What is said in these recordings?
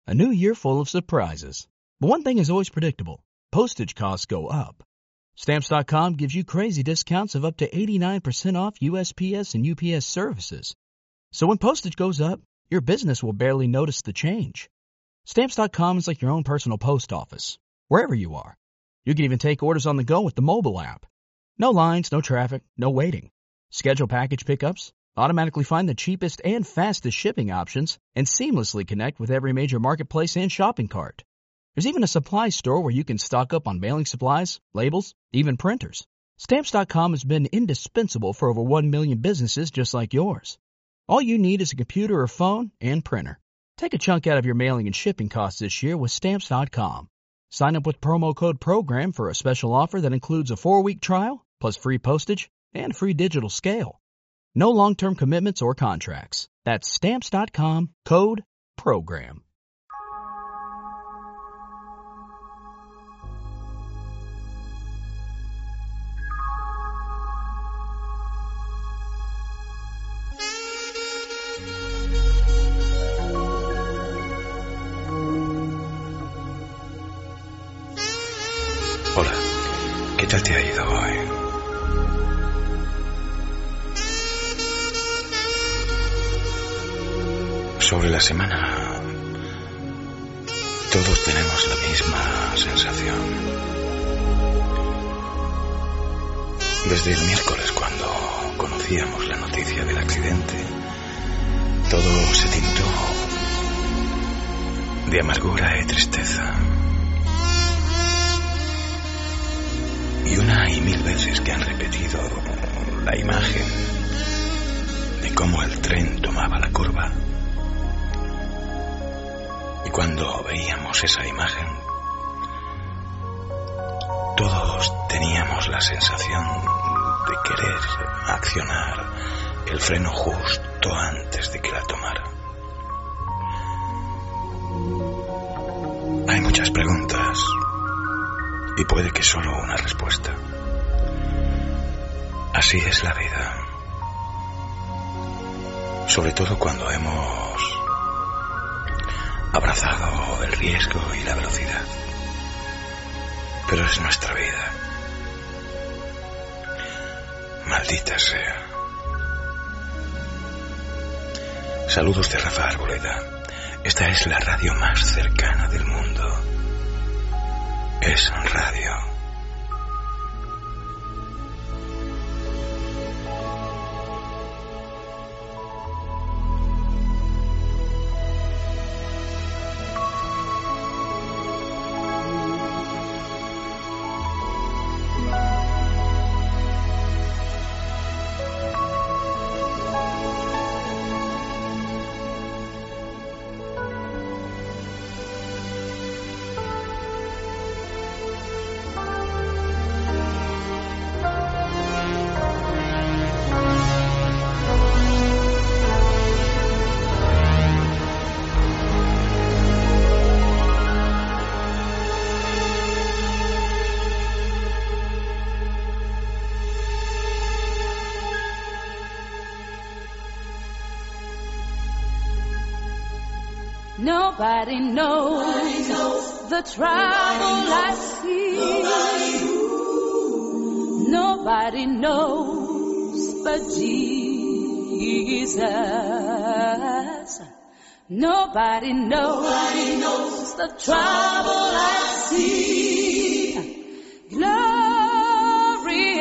A new year full of surprises. But one thing is always predictable. Postage costs go up. Stamps.com gives you crazy discounts of up to 89% off USPS and UPS services. So when postage goes up, your business will barely notice the change. Stamps.com is like your own personal post office, wherever you are. You can even take orders on the go with the mobile app. No lines, no traffic, no waiting. Schedule package pickups, automatically find the cheapest and fastest shipping options, and seamlessly connect with every major marketplace and shopping cart. There's even a supply store where you can stock up on mailing supplies, labels, even printers. Stamps.com has been indispensable for over 1 million businesses just like yours. All you need is a computer or phone and printer. Take a chunk out of your mailing and shipping costs this year with Stamps.com. Sign up with promo code PROGRAM for a special offer that includes a 4-week trial, plus free postage and free digital scale. No long-term commitments or contracts. That's Stamps.com, code PROGRAM. Hola, ¿qué tal te ha ido hoy? Sobre la semana, todos tenemos la misma sensación. Desde el miércoles, cuando conocíamos la noticia del accidente, todo se tintó de amargura y tristeza. Y una y mil veces que han repetido la imagen de cómo el tren tomaba la curva. Y cuando veíamos esa imagen, todos teníamos la sensación de querer accionar el freno justo antes de que la tomara. Hay muchas preguntas y puede que solo una respuesta. Así es la vida. Sobre todo cuando hemos abrazado el riesgo y la velocidad. Pero es nuestra vida. Maldita sea. Saludos de Rafa Arboleda. Esta es la radio más cercana del mundo. Es radio. Nobody knows the trouble I see. Nobody knows but Jesus. Nobody knows the trouble I see. Glory,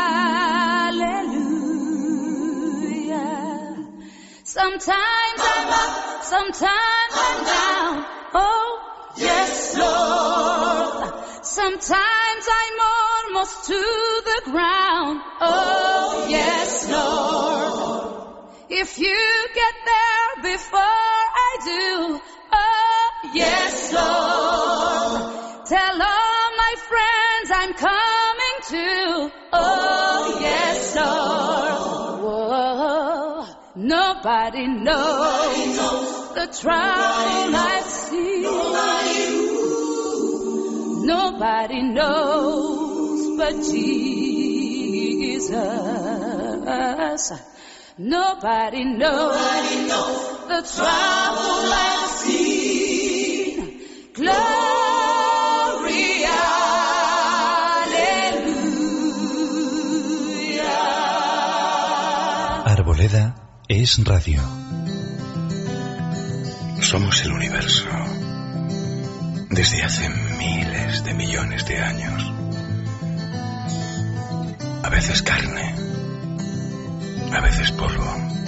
hallelujah. Sometimes I'm up, sometimes I'm down. Oh, yes, Lord. Sometimes I'm almost to the ground. Oh, yes, Lord. If you get there before I do, oh, yes, Lord. Tell all my friends I'm coming too. Oh, yes, Lord. Whoa. Nobody knows the trouble I see. Nobody knows but Jesus. Nobody knows the trouble I see. Veda es radio. Somos el universo desde hace miles de millones de años. A veces carne, a veces polvo,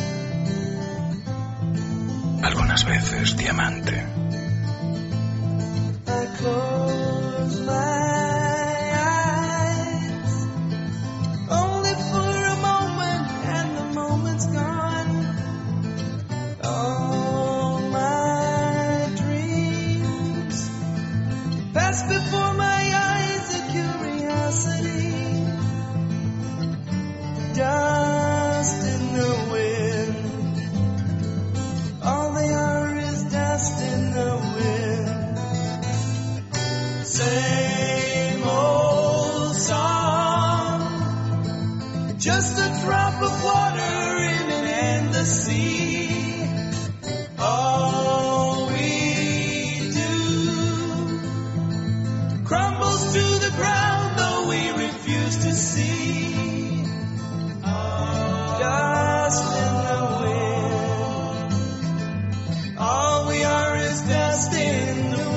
algunas veces diamante. Before my eyes a curiosity, dust in the wind, all they are is dust in the wind. Same old song, just a drop of water in an endless sea. All we do crumbles to the ground, though we refuse to see. Dust in the wind, all we are is dust in the wind.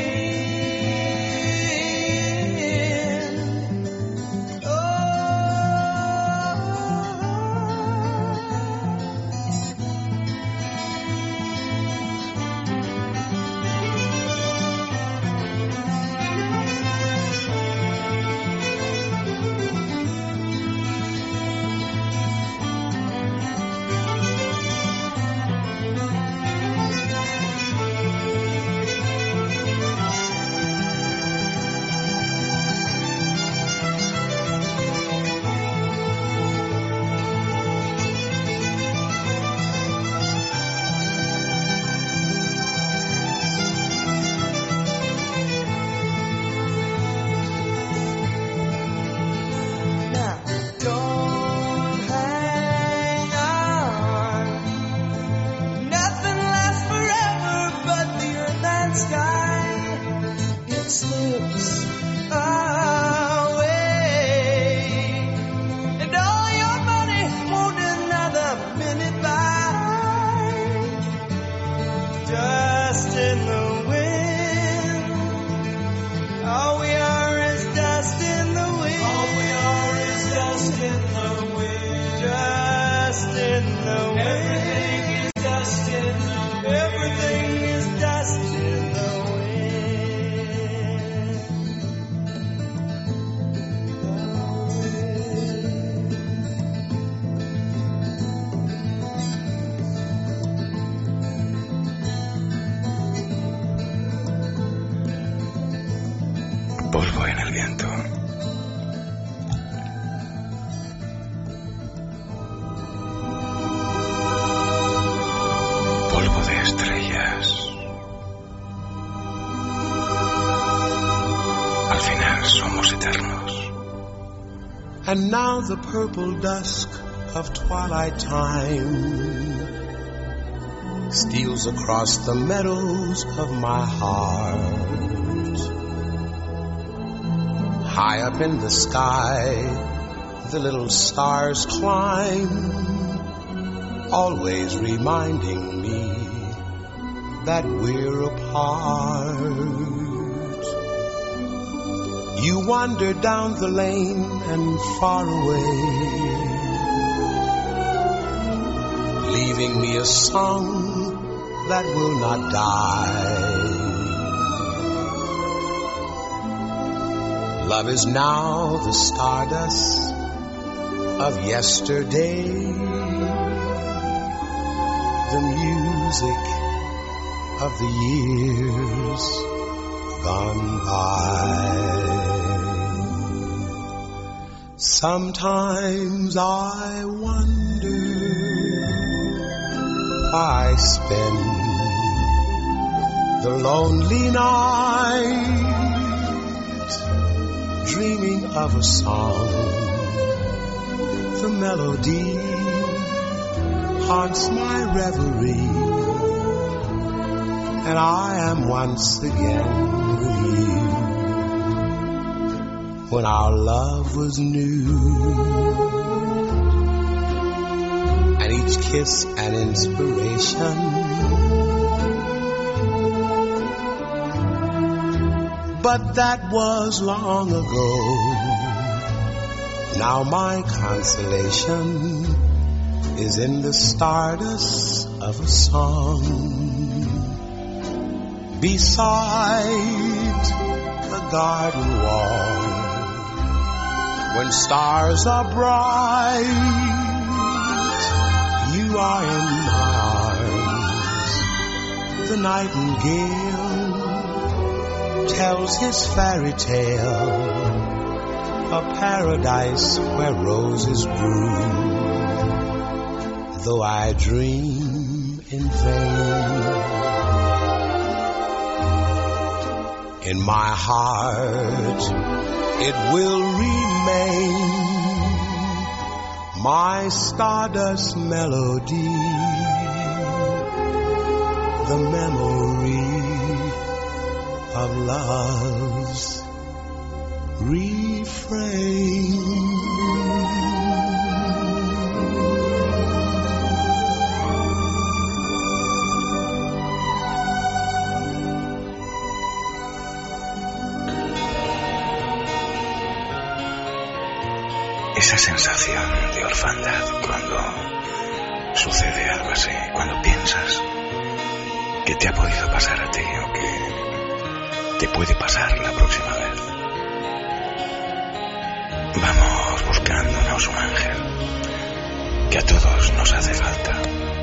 Polvo en el viento. Polvo de estrellas. Al final somos eternos. And now the purple dusk of twilight time steals across the meadows of my heart. High up in the sky, the little stars climb, always reminding me that we're apart. You wander down the lane and far away, leaving me a song that will not die. Love is now the stardust of yesterday, the music of the years gone by. Sometimes I wonder why I spend the lonely night dreaming of a song. The melody haunts my reverie, and I am once again with you. When our love was new, and each kiss an inspiration. But that was long ago. Now my consolation is in the stardust of a song beside the garden wall. When stars are bright, you are in my arms. The nightingale tells his fairy tale, a paradise where roses bloom. Though I dream in vain, in my heart it will remain, my stardust melody, the memory of love's refrain. Esa sensación de orfandad cuando sucede algo así, cuando piensas que te ha podido pasar a ti o que te puede pasar la próxima vez. Vamos buscándonos un ángel, que a todos nos hace falta.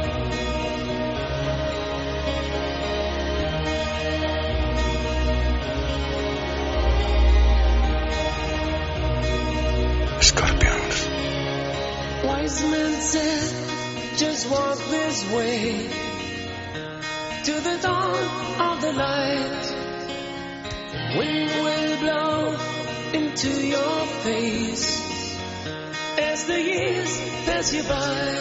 Scorpions. Wise men said, just walk this way to the dawn of the light. Wind will blow into your face as the years pass you by.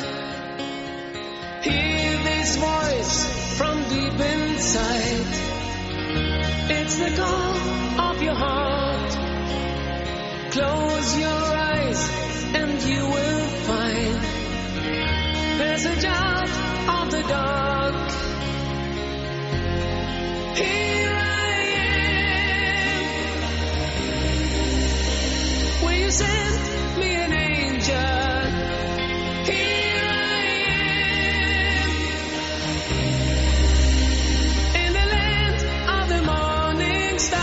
Hear this voice from deep inside. It's the call of your heart. Close your eyes and you will find passage out of the dark. Here I am. Will you send me an angel? Here I am. In the land of the morning star.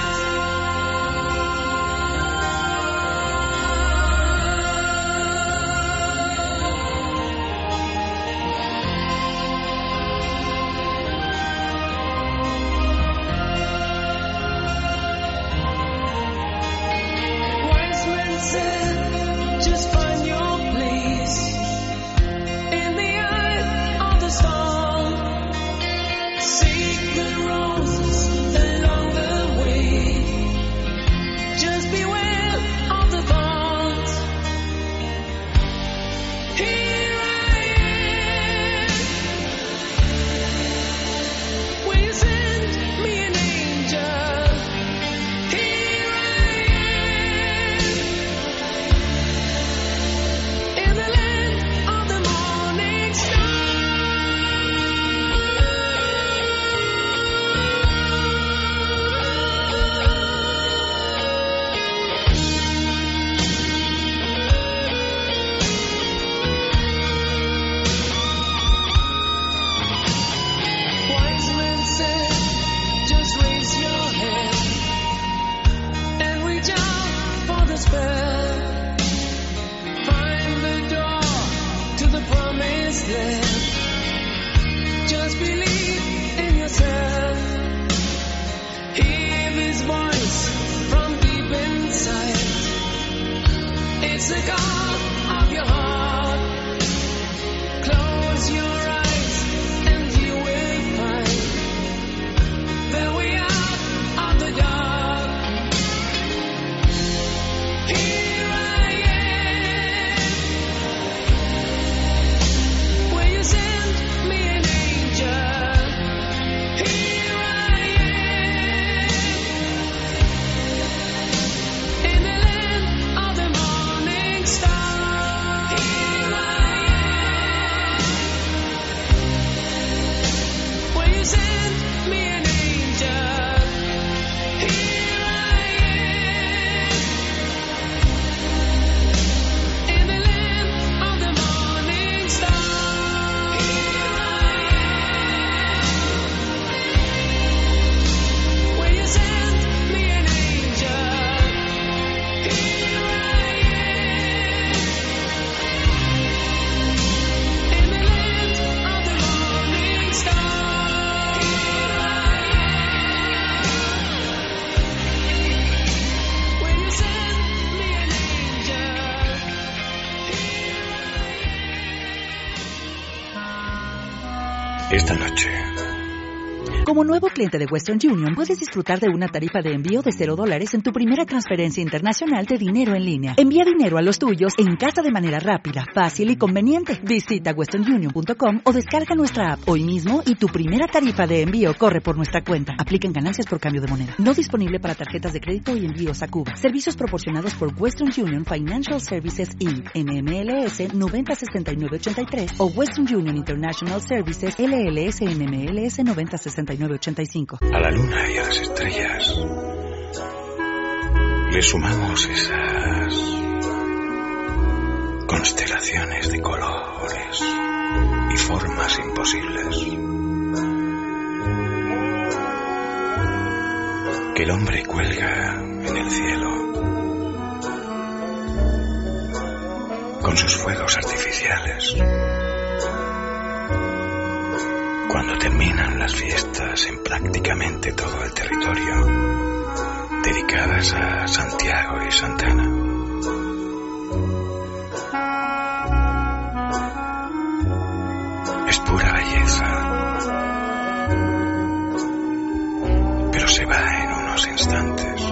esta noche. Como nuevo cliente de Western Union, puedes disfrutar de una tarifa de envío de $0 en tu primera transferencia internacional de dinero en línea. Envía dinero a los tuyos en casa de manera rápida, fácil y conveniente. Visita westernunion.com o descarga nuestra app hoy mismo y tu primera tarifa de envío corre por nuestra cuenta. Aplican ganancias por cambio de moneda. No disponible para tarjetas de crédito y envíos a Cuba. Servicios proporcionados por Western Union Financial Services Inc. NMLS 906983 o Western Union International Services LLS NMLS 906985. A la luna y a las estrellas le sumamos esas constelaciones de colores y formas imposibles que el hombre cuelga en el cielo con sus fuegos artificiales. Cuando terminan las fiestas en prácticamente todo el territorio dedicadas a Santiago y Santana. Es pura belleza, pero se va en unos instantes.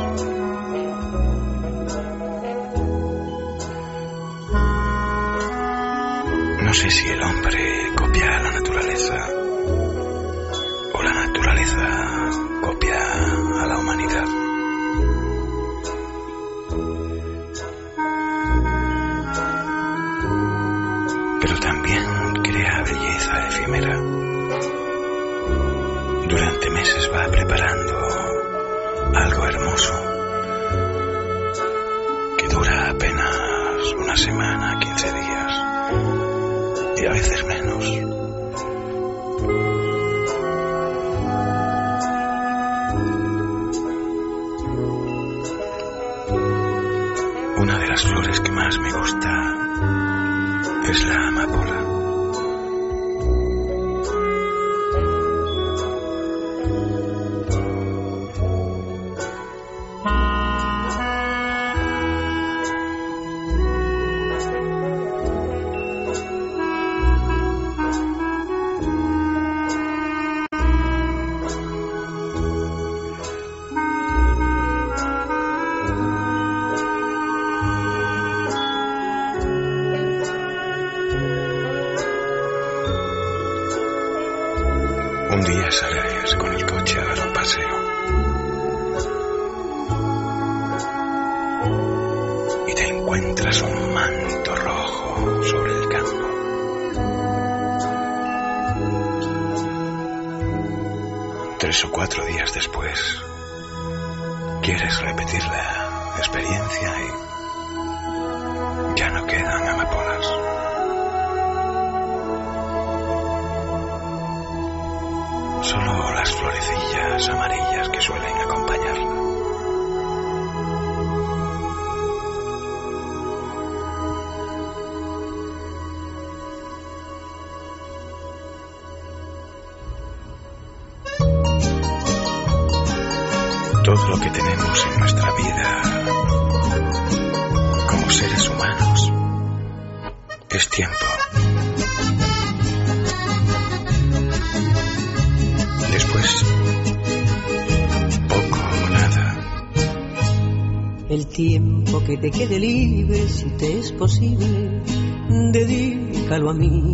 No sé si el hombre copia a la naturaleza o la naturaleza copia a la humanidad. Pero también crea belleza efímera. Durante meses va preparando algo hermoso que dura apenas una semana, 15 días y a veces menos. Una de las flores que más me gusta es la amapola. Un día sales con el coche a dar un paseo y te encuentras un manto rojo sobre el campo. Tres o 4 días después, quieres repetir la experiencia y ya no quedan amapolas. Solo las florecillas amarillas que suelen acompañarla. Todo lo que tenemos en nuestra vida como seres humanos es tiempo. Después, poco o nada. El tiempo que te quede libre, si te es posible, dedícalo a mí.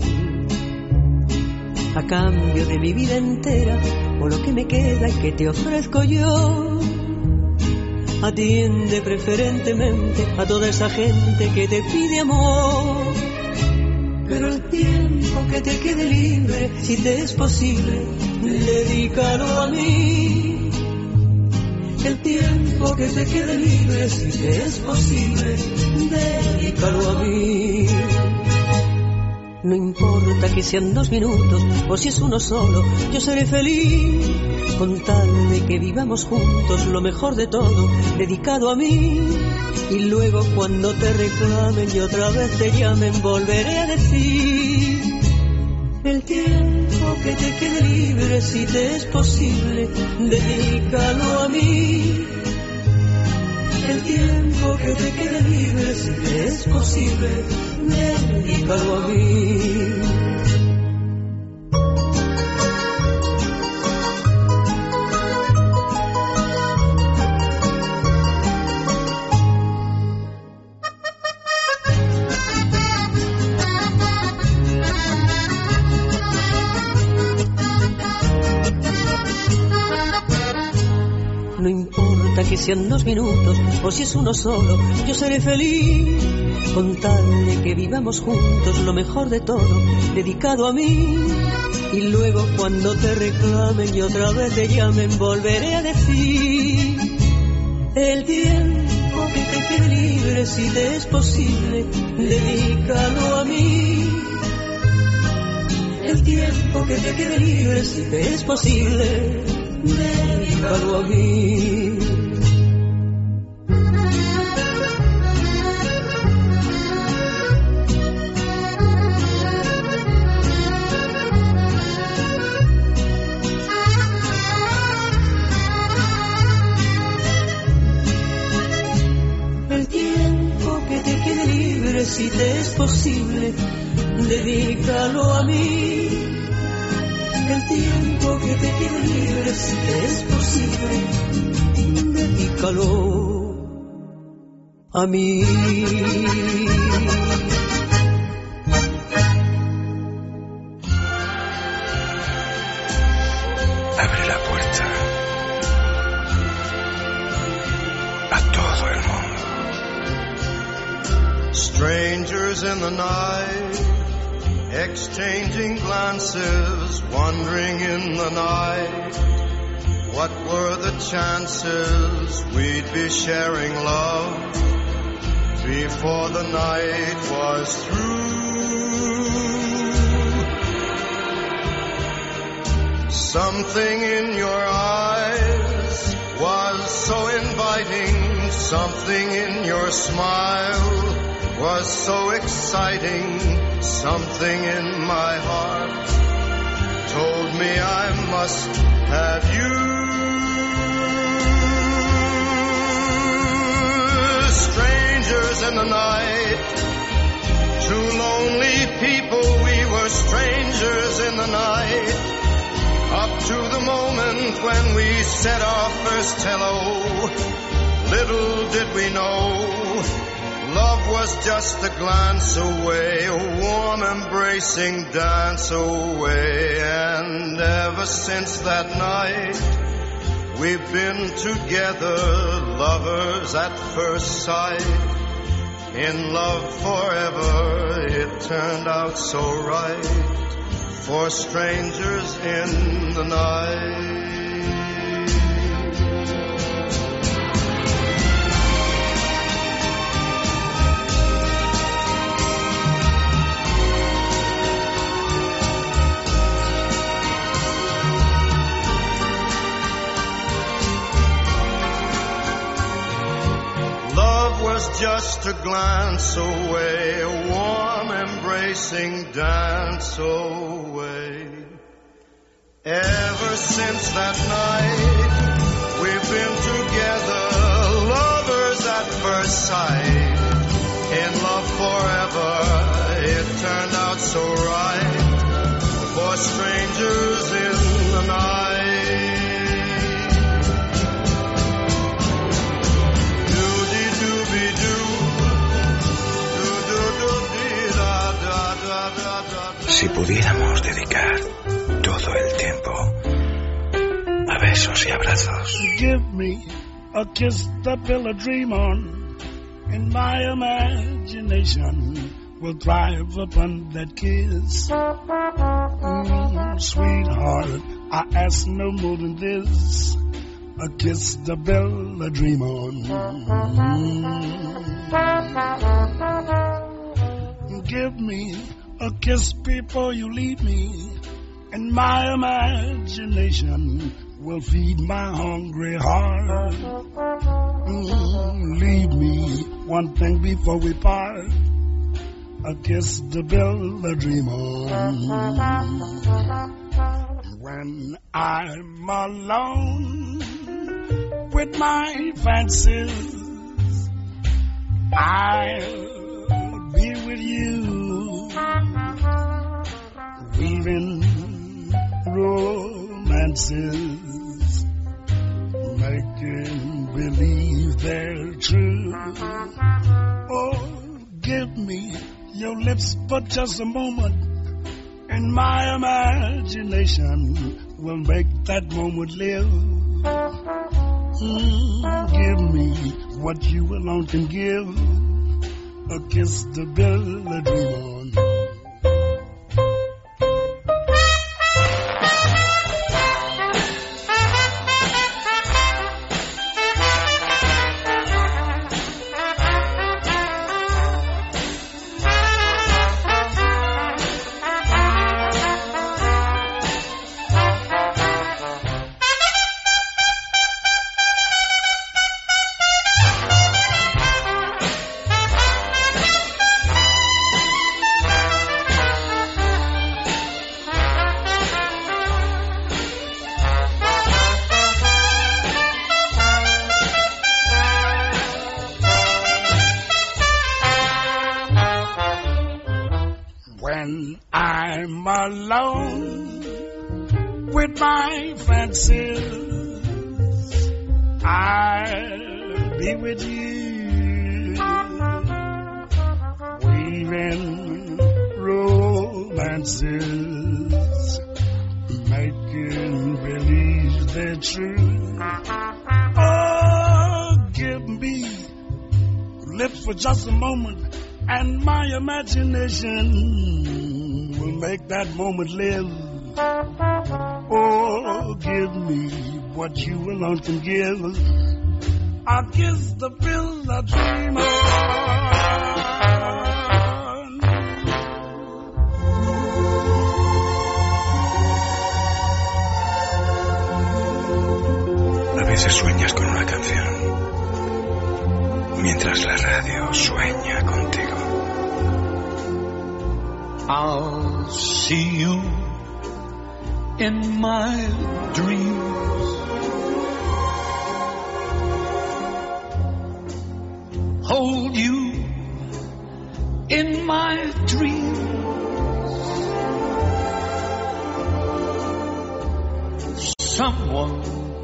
A cambio de mi vida entera, o lo que me queda y que te ofrezco yo. Atiende preferentemente a toda esa gente que te pide amor. Pero el tiempo que te quede libre, si te es posible, dedícalo a mí. El tiempo que te quede libre, si te es posible, dedícalo a mí. No importa que sean 2 minutos o si es uno solo, yo seré feliz con tal de que vivamos juntos lo mejor de todo, dedicado a mí. Y luego cuando te reclamen y otra vez te llamen, volveré a decir: el tiempo que te quede libre, si te es posible, dedícalo a mí. El tiempo que te quede libre, si te es posible, dedícalo a mí. No importa que sean 2 minutos o si es uno solo, yo seré feliz con tal de que vivamos juntos lo mejor de todo, dedicado a mí. Y luego cuando te reclamen y otra vez te llamen, volveré a decir: el tiempo que te quede libre, si te es posible, dedícalo a mí. El tiempo que te quede libre, si te es posible, dedícalo a mí. Si te es posible, dedícalo a mí. El tiempo que te quede libre, si te es posible, dedícalo a mí. Abre la puerta a todo el mundo. Strangers in the night, exchanging glances, wandering in the night. What were the chances we'd be sharing love before the night was through? Something in your eyes was so inviting, something in your smile was so exciting, something in my heart told me I must have you. Strangers in the night, two lonely people, we were strangers in the night, up to the moment when we said our first hello. Little did we know, love was just a glance away, a warm embracing dance away. And ever since that night, we've been together, lovers at first sight. In love forever, it turned out so right, for strangers in the night. Just a glance away, a warm embracing dance away. Ever since that night, we've been together, lovers at first sight. In love forever, it turned out so right, for strangers in the night. Si pudiéramos dedicar todo el tiempo a besos y abrazos. Give me a kiss to build a dream on, and my imagination will thrive upon that kiss. Sweetheart, I ask no more than this, a kiss to build a dream on. Give me a kiss before you leave me, and my imagination will feed my hungry heart. Leave me one thing before we part, a kiss to build a dream on. When I'm alone with my fancies, I'll be with you, weaving romances, making believe they're true. Oh, give me your lips for just a moment, and my imagination will make that moment live. Give me what you alone can give. A kiss to build a dream on. When I'm alone with my fancies, I'll be with you, weaving romances, making believe they're true. Oh, give me lips for just a moment, and my imagination will make that moment live. Oh, give me what you alone can give. I'll kiss the pill I dream on. A veces sueñas con una canción, mientras la radio sueña contigo. I'll see you in my dreams. Hold you in my dreams. Someone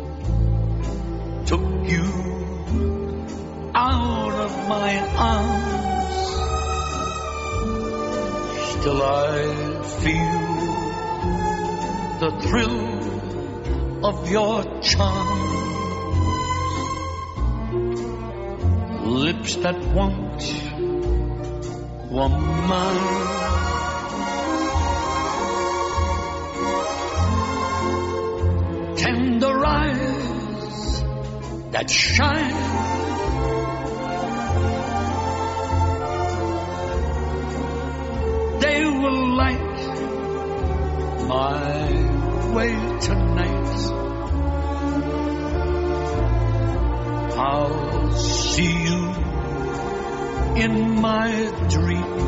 took you out of my arms. Still I feel the thrill of your charm. Lips that once were mine. Tender eyes that shine. They will light my way tonight. I'll see you in my dream.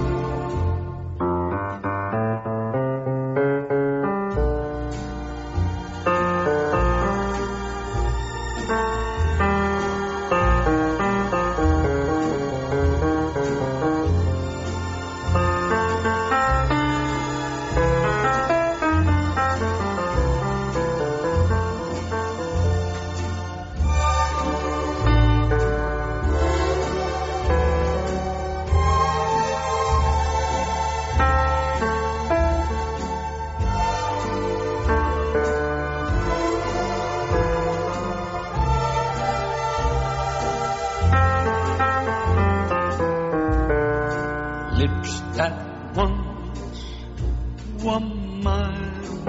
Lips that once were mine.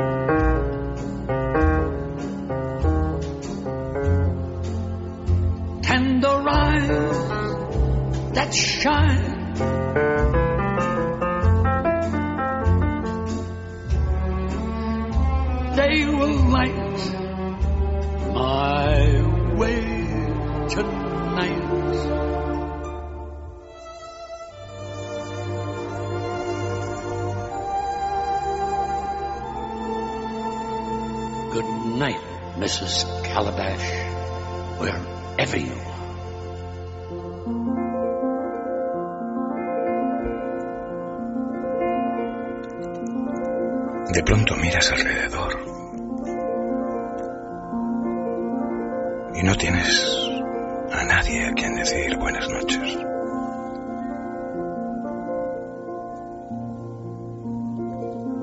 Tender eyes that shine. They will light my way tonight. Good night, Mrs. Calabash, wherever you are. De pronto miras alrededor y no tienes a nadie a quien decir buenas noches.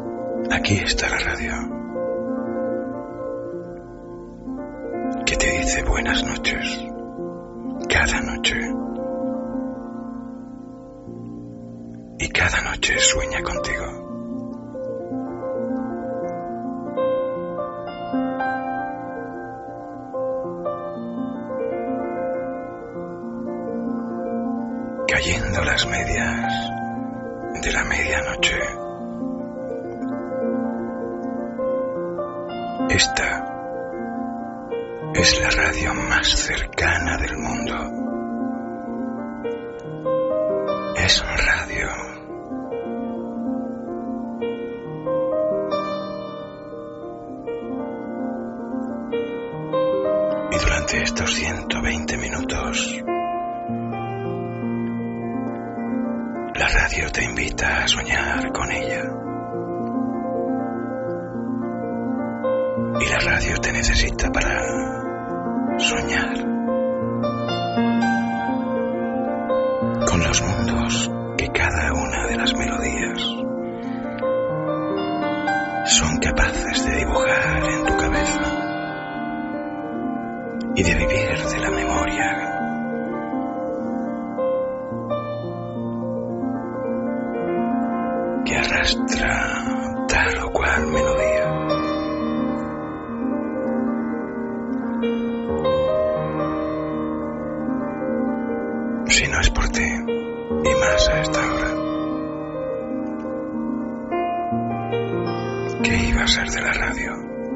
Aquí está la radio, que te dice dice buenas noches cada noche. Y cada noche sueña contigo. Cayendo las medias de la medianoche. Esta es la radio más cercana del mundo. Es radio. Y durante estos 120 minutos, la radio te invita a soñar con ella. Y la radio te necesita para soñar con los mundos que cada una de las melodías son capaces de dibujar en tu cabeza y de vivir de la memoria. Que arrastra tal o cual melodía. Si no es por ti, y más a esta hora, ¿qué iba a ser de la radio?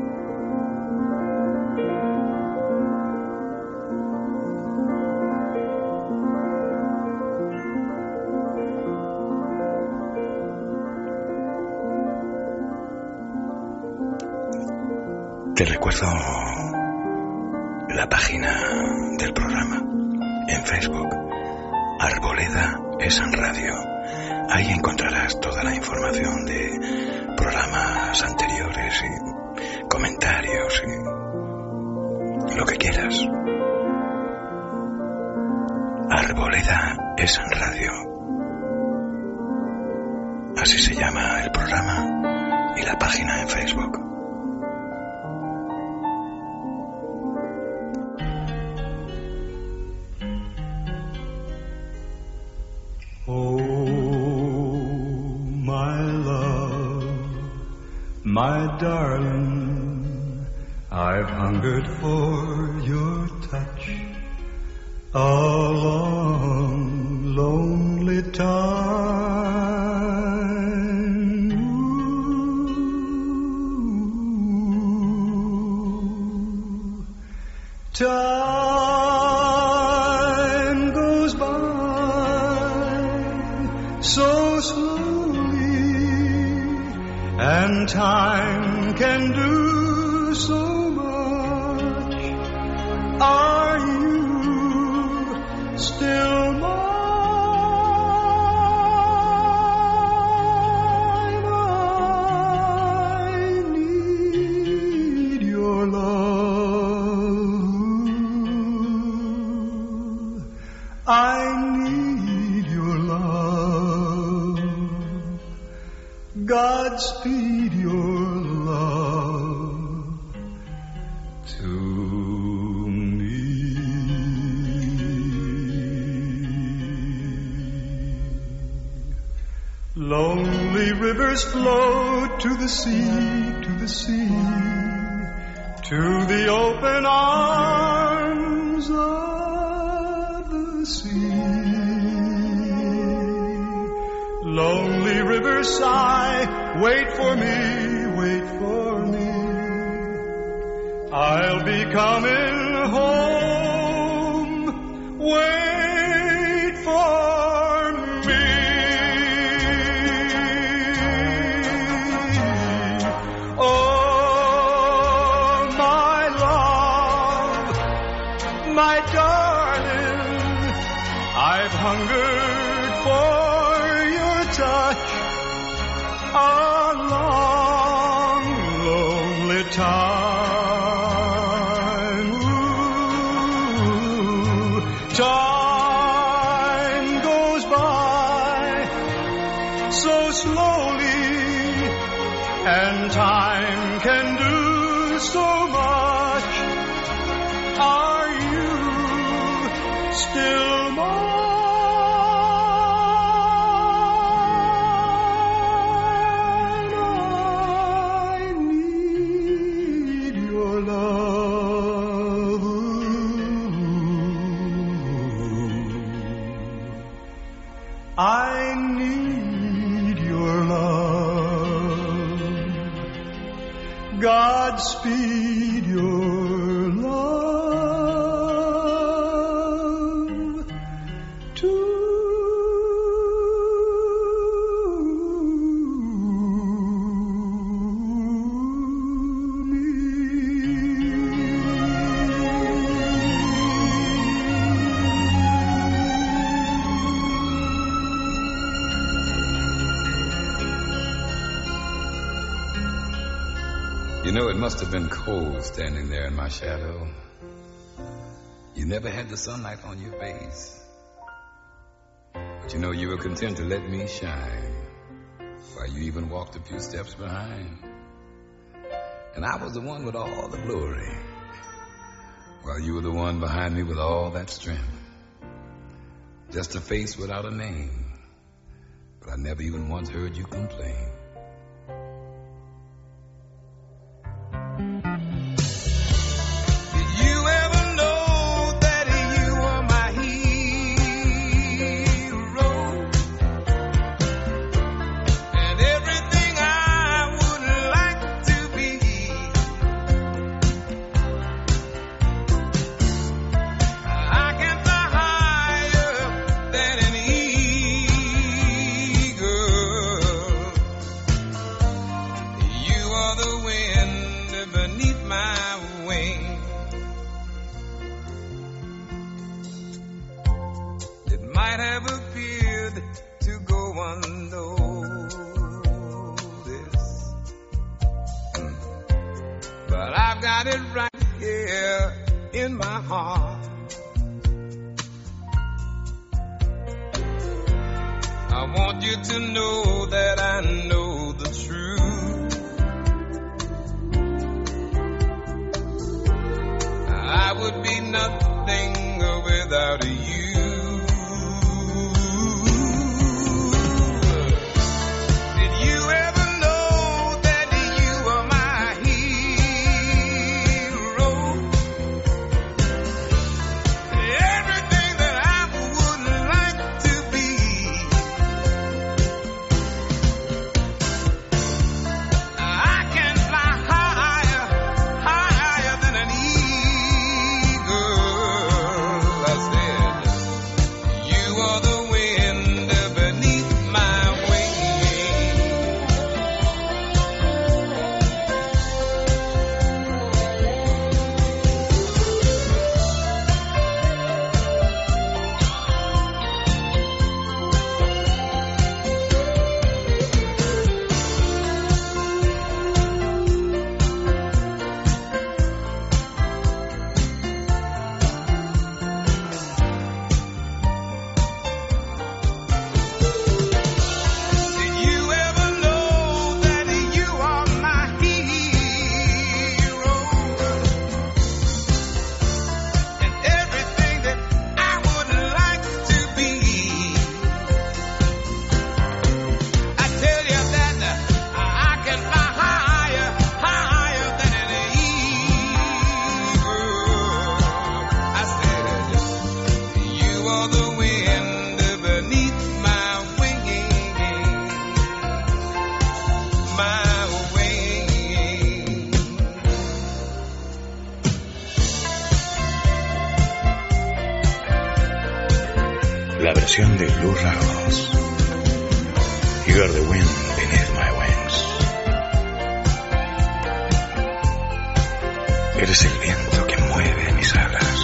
Te recuerdo la página del programa en Facebook, Arboleda es en Radio. Ahí encontrarás toda la información de programas anteriores y comentarios y lo que quieras. Arboleda es en Radio. Así se llama el programa y la página en Facebook. My darling, I've hungered for your touch a long, lonely time. Ooh. Time goes by so slowly, and time can do so much. Are you still mine? I need your love. I need your love. Godspeed your love to me. Lonely rivers flow to the sea, to the sea, to the open arms of the sea. Lonely rivers sigh, wait for me, wait for me. I'll be coming home, wait for me. Oh, my love, my darling, I've hungered for touch a long, lonely time. Ooh, time goes by so slowly, and time can do so much. Are still mine. I need your love. I need your love. Godspeed your love to You know, it must have been cold standing there in my shadow. You never had the sunlight on your face. But you know, you were content to let me shine, while you even walked a few steps behind. And I was the one with all the glory, while you were the one behind me with all that strength. Just a face without a name, but I never even once heard you complain. La versión de Lou Rawls. You are the wind beneath my wings. Eres el viento que mueve mis alas.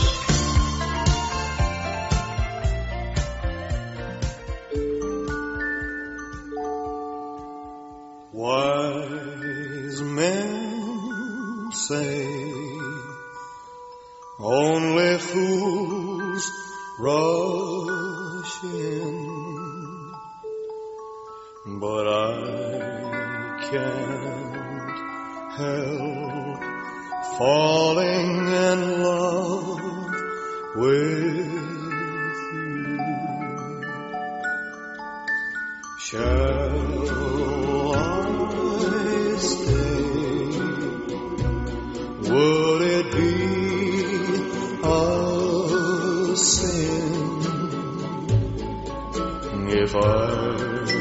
Wise men say only fools rush in, but I can't help falling in love with Shall I stay? Would it be a sin if I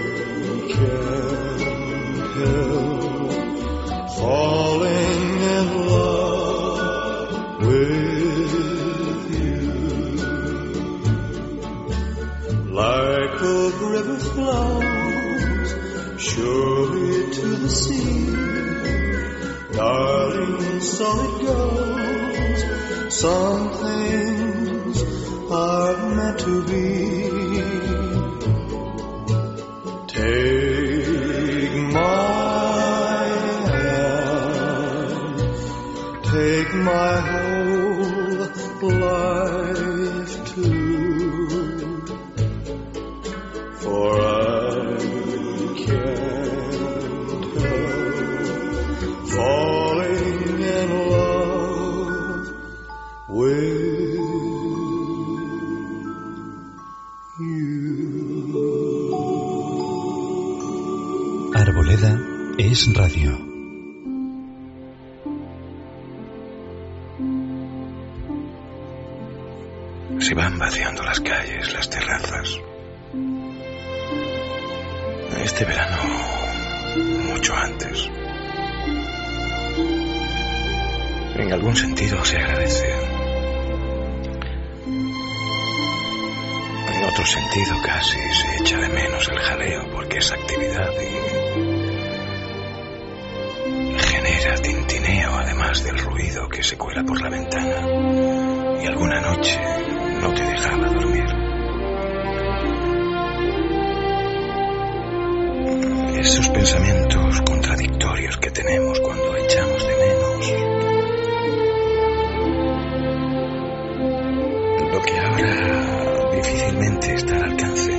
can't help falling in love with you? Like a river flows surely to the sea, darling, so it goes. Some things are meant to be. Take my hand, take my whole life too, for I can't help falling in love with you. Arboleda es radio. Se van vaciando las calles, las terrazas. Este verano, mucho antes. En algún sentido se agradece. En otro sentido casi se echa de menos el jaleo porque es actividad y genera tintineo además del ruido que se cuela por la ventana y alguna noche no te dejaba dormir. Esos pensamientos contradictorios que tenemos cuando echamos de menos lo que ahora difícilmente está al alcance.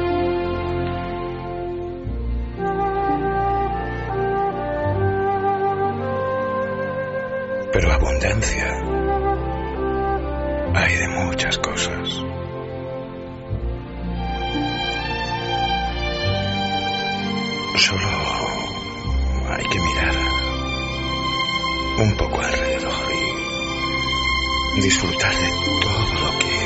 Pero abundancia hay de muchas cosas. Solo hay que mirar un poco alrededor y disfrutar de todo lo que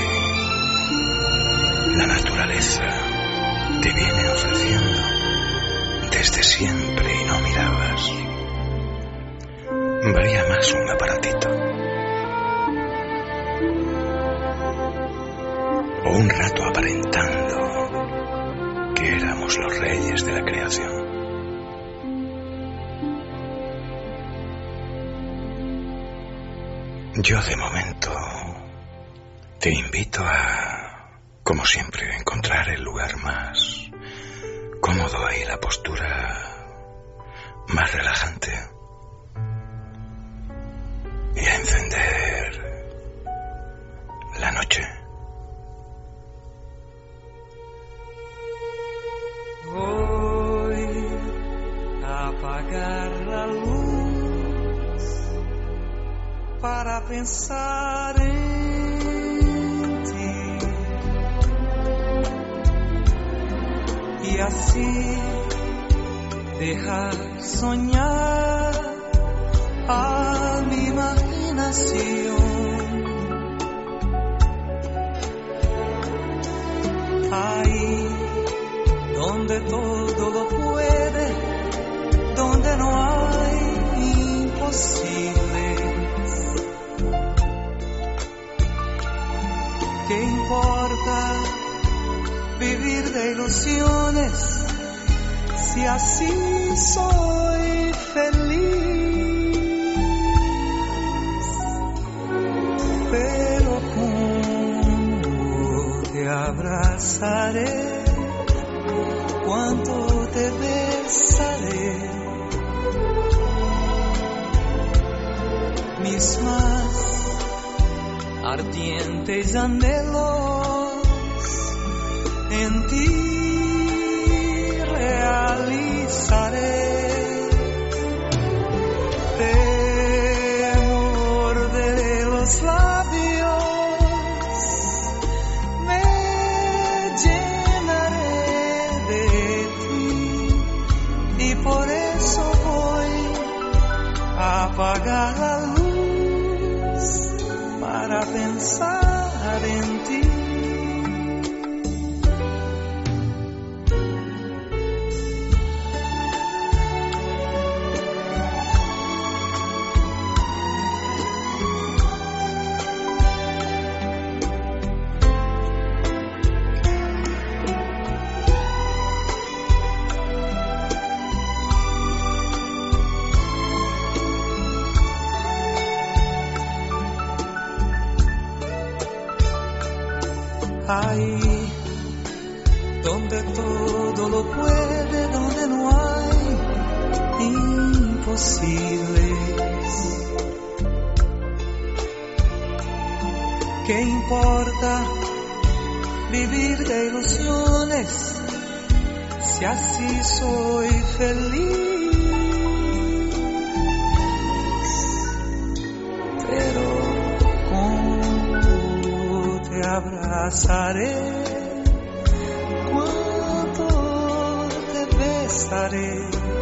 la naturaleza te viene ofreciendo desde siempre y no mirabas. Valía más un aparatito o un rato aparentando que éramos los reyes de la creación. Yo de momento te invito a, como siempre, encontrar el lugar más cómodo y la postura más relajante y a encender la noche. Voy a apagar la luz para pensar en ti y así dejar soñar a mi imaginación. Ahí donde todo lo puede, donde no hay imposibles. ¿Qué importa vivir de ilusiones si así soy feliz? Pero cómo te abrazaré, cuánto te besaré, mis más ardientes anhelos en ti realizaré. Te morderé los labios, me llenaré de ti. pensar en ti. Ahí donde todo lo puede, donde no hay imposibles. ¿Qué importa vivir de ilusiones si así soy feliz? Pero te abrazaré, cuánto te besaré,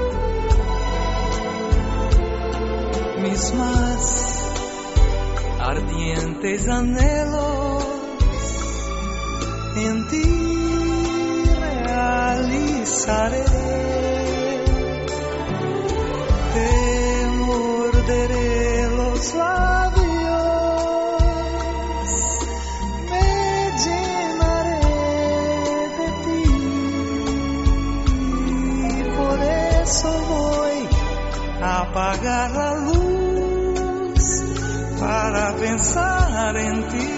mis más ardientes anhelos en ti realizaré. Te morderé los labios, apagar la luz para pensar en ti.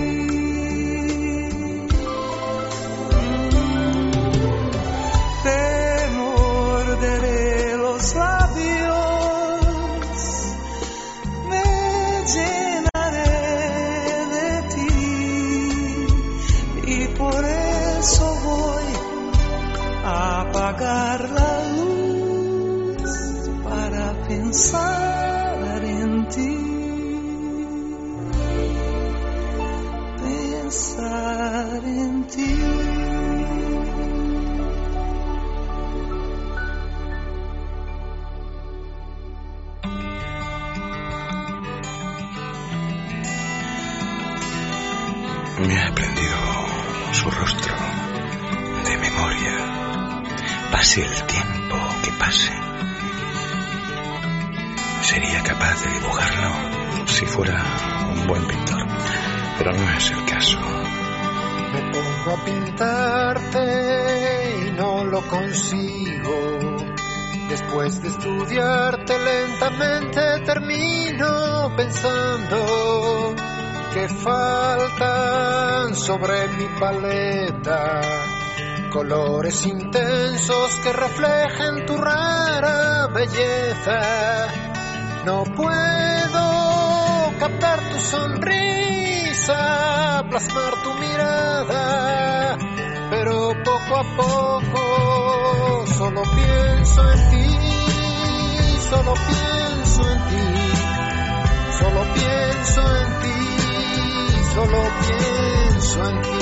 Te morderé los labios, me llenaré de ti y por eso voy a apagar la luz para pensar en ti, pensar en ti. Me ha aprendido su rostro de memoria, pase el tiempo que pase. Sería capaz de dibujarlo si fuera un buen pintor, pero no es el caso. Me pongo a pintarte y no lo consigo. Después de estudiarte lentamente termino pensando que faltan sobre mi paleta colores intensos que reflejen tu rara belleza. No puedo captar tu sonrisa, plasmar tu mirada, pero poco a poco solo pienso en ti, solo pienso en ti, solo pienso en ti, solo pienso en ti.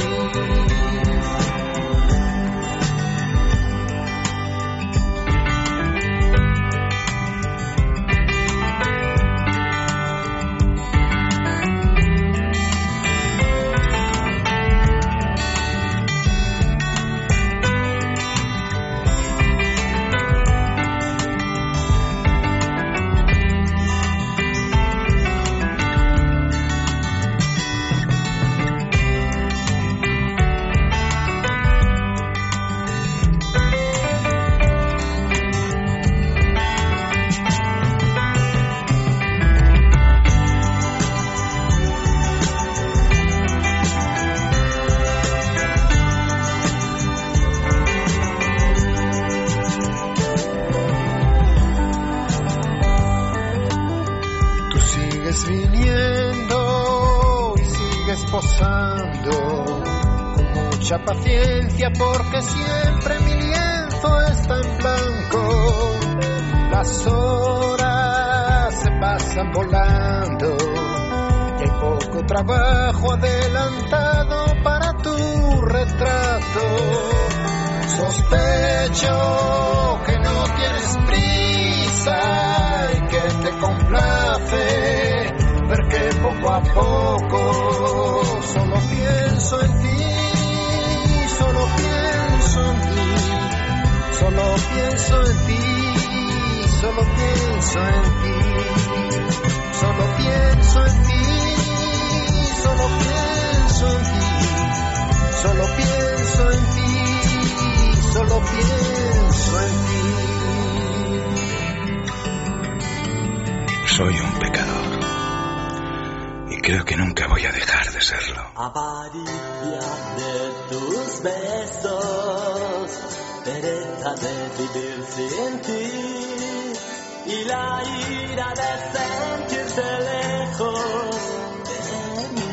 Paciencia porque siempre mi lienzo está en blanco. Las horas se pasan volando y hay poco trabajo adelantado para tu retrato. Sospecho que no tienes prisa y que te complace ver que poco a poco solo pienso en ti, solo pienso en ti, solo pienso en ti, solo pienso en ti, solo pienso en ti, solo pienso en ti. Soy un pecador y creo que nunca voy a dejar de serlo. Avaricia de tus besos, pereza de vivir sin ti y la ira de sentirte lejos de mí.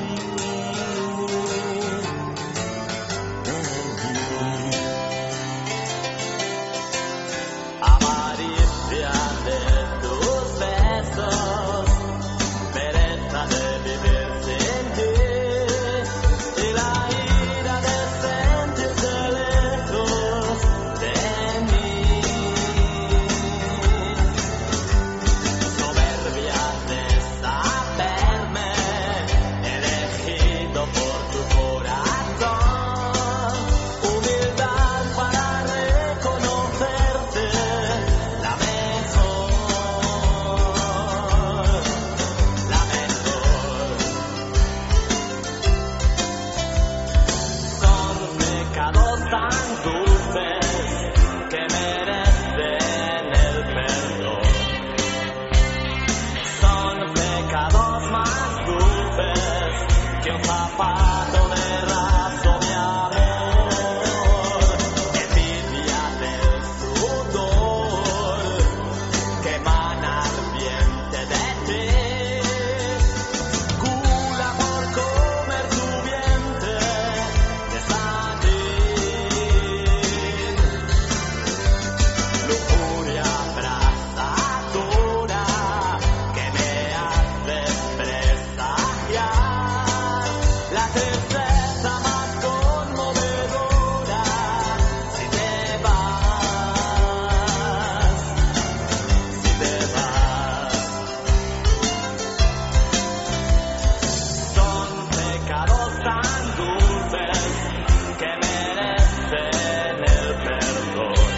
Avaricia de tus besos, pereza de vivir sin ti y la ira de sentirte lejos de mí. Soberbia de saberme elegido por tu corazón, humildad para reconocerte la mejor, la mejor. Son pecados tan dulces que merecen el perdón. Son pecados más dulces que un zapato de raso, mi amor. Envidia del sudor que emana ardiente de ti. Gula por comer tu vientre de sandín. Lujuria abrasadora que me hace presagiar la tristeza más conmovedora si te vas, si te vas. Son pecados tan dulces que merecen el perdón.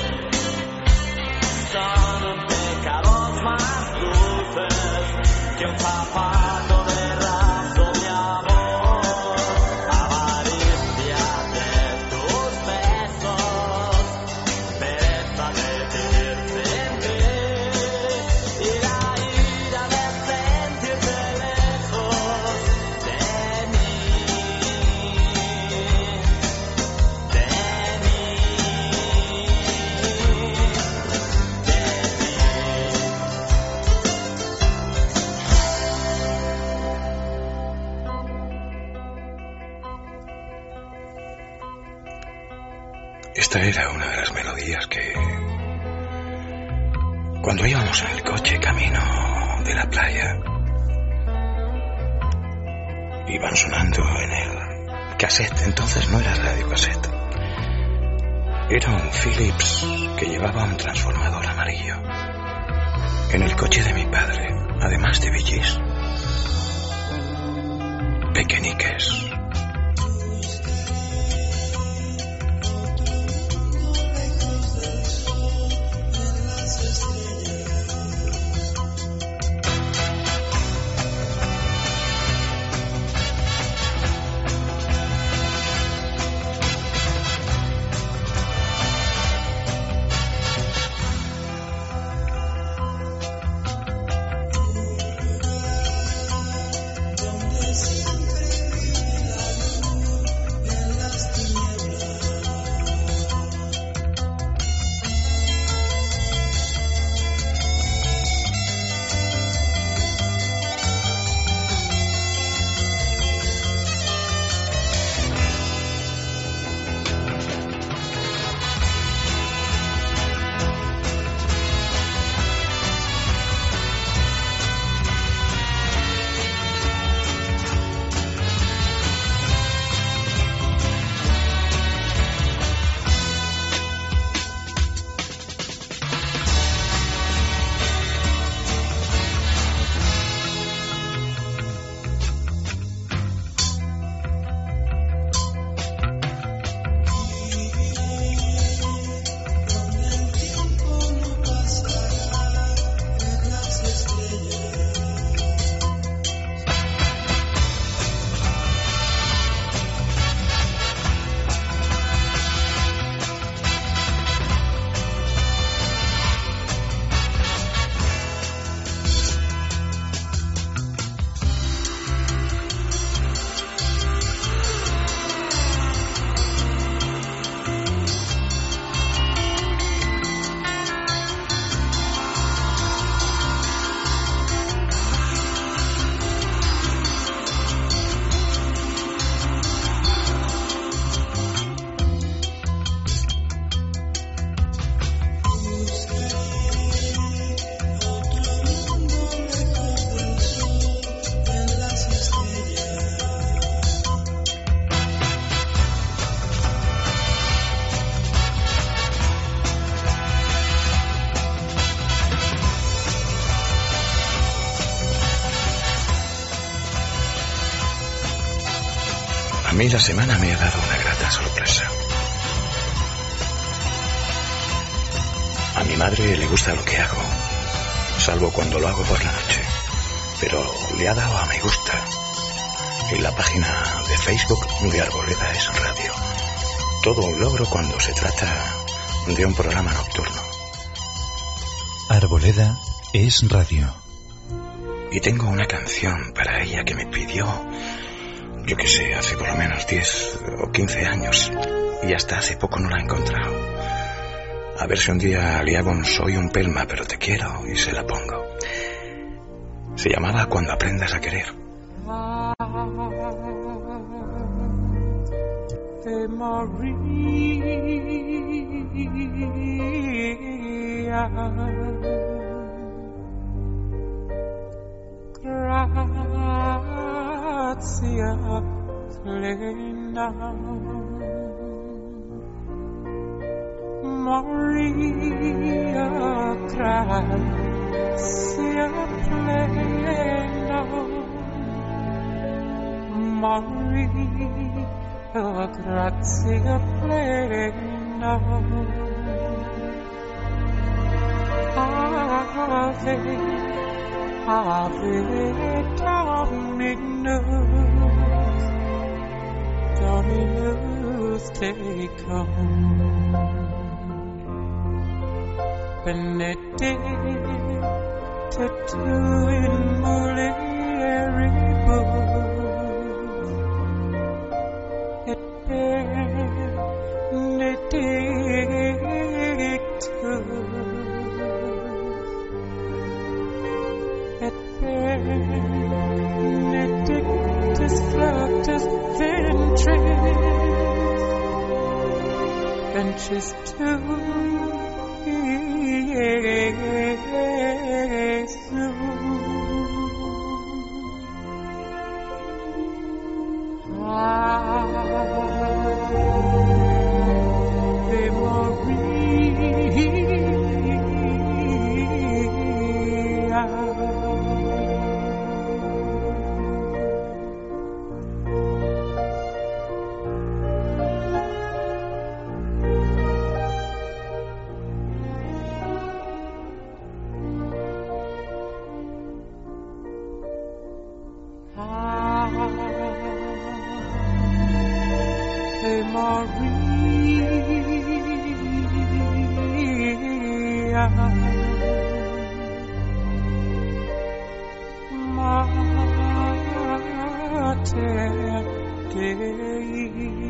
Son pecados más dulces que un zapato de raso, mi amor. Avaricia de tus besos, pereza de vivir sin ti y la ira de sentirte lejos de mí, de mí, de mí. Esta era una de las melodías que, cuando íbamos en el coche camino de la playa, iban sonando en el cassette. Entonces no era radio cassette, era un Philips que llevaba un transformador amarillo. En el coche de mi padre, además de Bee Gees, Pequeñiques. mí la semana me ha dado una grata sorpresa. A mi madre le gusta lo que hago, salvo cuando lo hago por la noche, pero le ha dado a me gusta en la página de Facebook de Arboleda es Radio. Todo un logro cuando se trata de un programa nocturno. Arboleda es Radio. Y tengo una canción para ella que me pidió, yo que sé, hace por lo menos 10 o 15 años, y hasta hace poco no la he encontrado. A ver si un día le hago un soy un pelma pero te quiero y se la pongo. Se llamaba Cuando aprendas a querer. Ave Maria, gratia plena, Maria, gratia plena, Maria, gratia plena, Ave, Ave Dominus, Dominus tecum, benedicta tu in mulieribus, et benedictus, et benedictus fructus ventris tui, Jesus. Ave Maria, Mater Dei,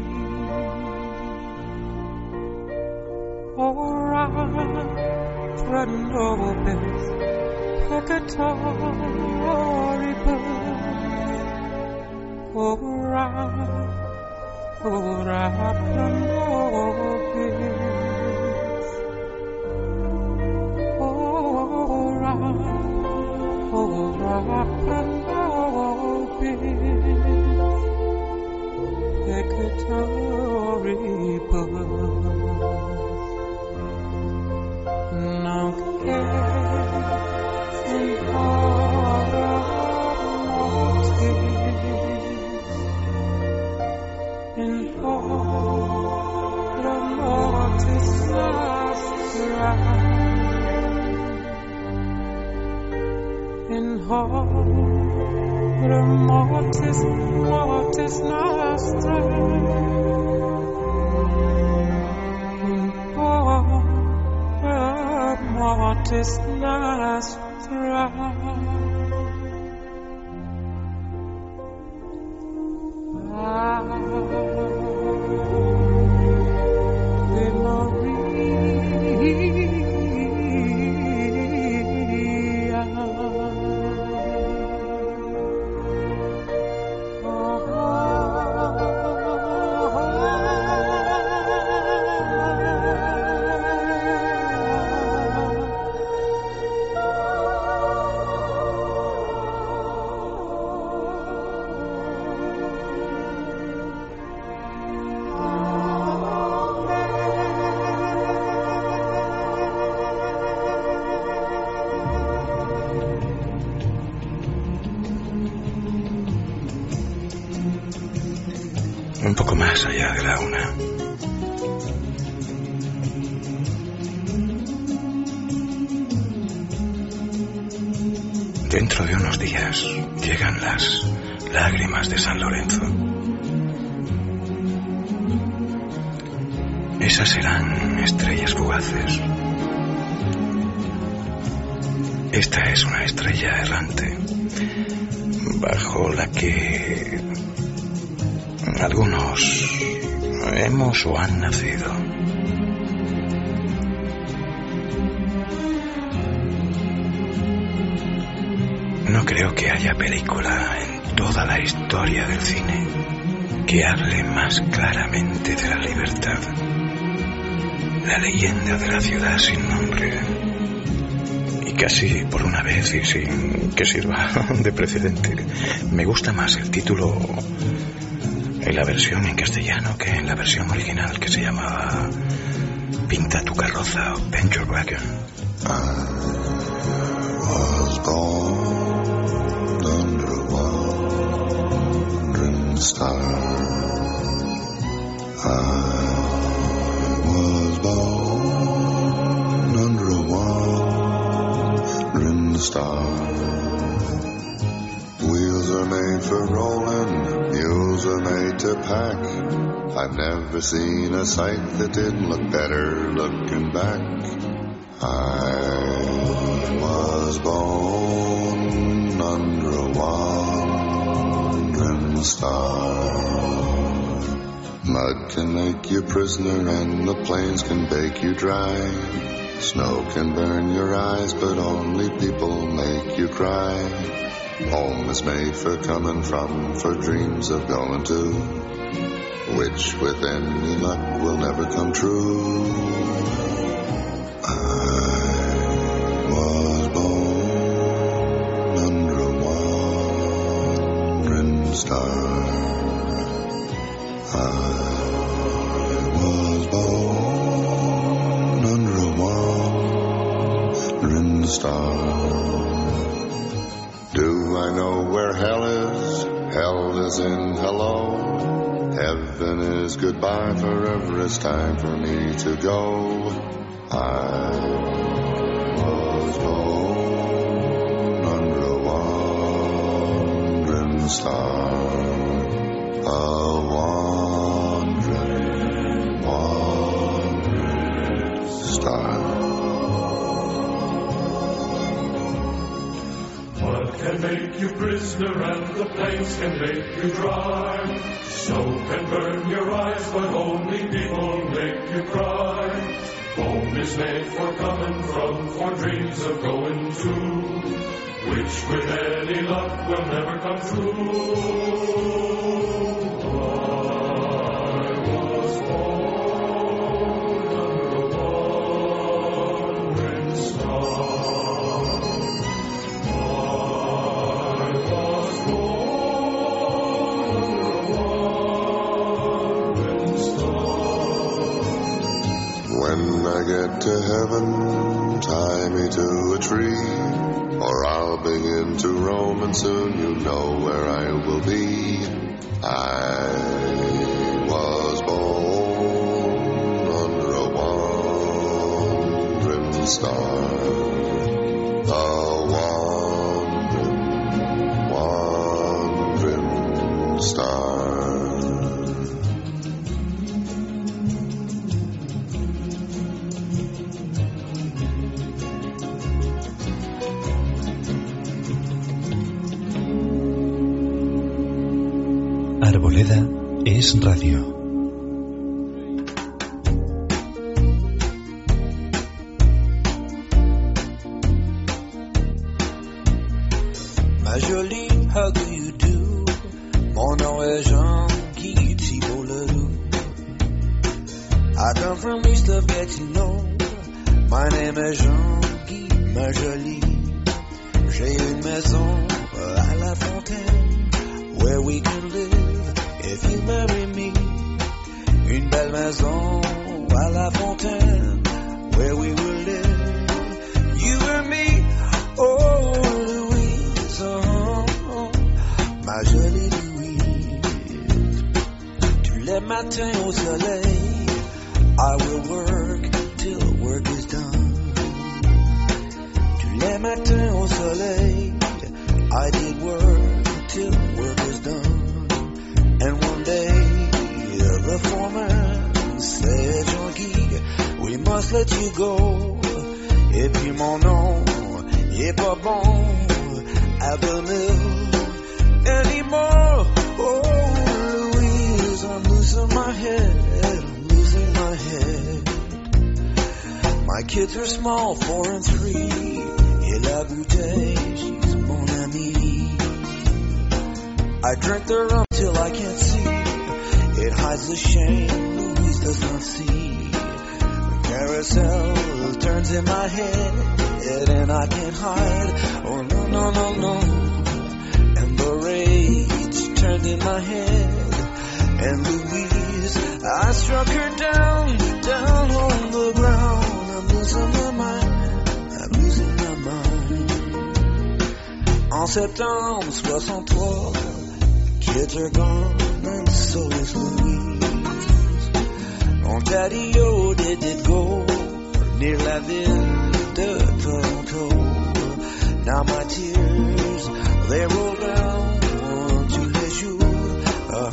ora pro nobis peccatoribus, ora pro nobis, ora pro nobis peccatoribus. Nunc et in hora mortis, in hora mortis nostra, in hora mortis nostra, in hora mortis nostra. Ave Maria, más allá de la una. Dentro de unos días llegan las lágrimas de San Lorenzo. Esas serán estrellas fugaces. Esta es una estrella errante, bajo la que algunos hemos o han nacido. No creo que haya película en toda la historia del cine que hable más claramente de la libertad. La leyenda de la ciudad sin nombre. Y casi por una vez y sin que sirva de precedente, me gusta más el título en la versión en castellano que en la versión original, que se llamaba Pinta tu carroza o Paint Your Wagon. Was born under a wandering star. I was born under a wandering star. Wheels are made for rolling, mules are made to pack. I've never seen a sight that didn't look better looking back. I was born under a wandering star. Mud can make you prisoner and the plains can bake you dry. Snow can burn your eyes but only people make you cry. Home is made for coming from, for dreams of going to, which with any luck will never come true. Do I know where hell is? Hell is in hello. Heaven is goodbye. Forever it's time for me to go. I was born under a wandering star. A wandering star. Can make you prisoner and the plains can make you dry. Snow can burn your eyes, but only people make you cry. Home is made for coming from, for dreams of going to, which with any luck will never come true. To heaven, tie me to a tree, or I'll begin to roam, and soon you know where I will be. I was born under a wandering star, a wandering star. Arboleda es radio. Ma jolie, how do you do? Mon nom est Jean-Guy Thibault-Ledoux. I come from east of Gatineau. My name est Jean-Guy, ma jolie. J'ai une maison à La Fontaine, where we can live if you marry me. Une belle maison à La Fontaine, where we will live, you and me. Oh, Louise, oh, ma jolie Louise. Tu lèves matin au soleil, I will work till work is done. Tous les matins au soleil, I did work till work was done. And one day, the foreman said, Jean-Guy, we must let you go. Et puis mon nom, il est pas bon at the mill anymore. Oh, Louise, I'm losing my head, I'm losing my head. My kids are small, 4 and 3. Et la bouteille, she's mon amie. I drink the rum till I can't see. It hides the shame Louise does not see. The carousel turns in my head, and I can't hide. Oh no, no, no, no. And the rage turned in my head. And Louise, I struck her down, down on the ground. I'm losing my mind, I'm losing my mind. En septembre 63, kids are gone and so is Louise. Ontario did go near la ville de Toronto. Now my tears, they roll down tous les jours.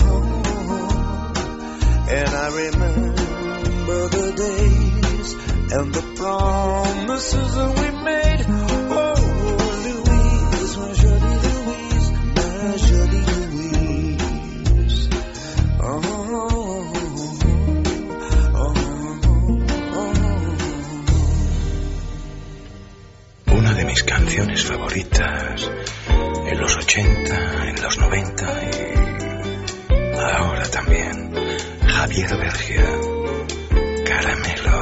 And I remember the days and the promises that we made. Oh, Louise, my jolie Louise, my jolie Louise. Una de mis canciones favoritas en los 80, en los 90 y ahora también. Javier Bergia, Caramelo.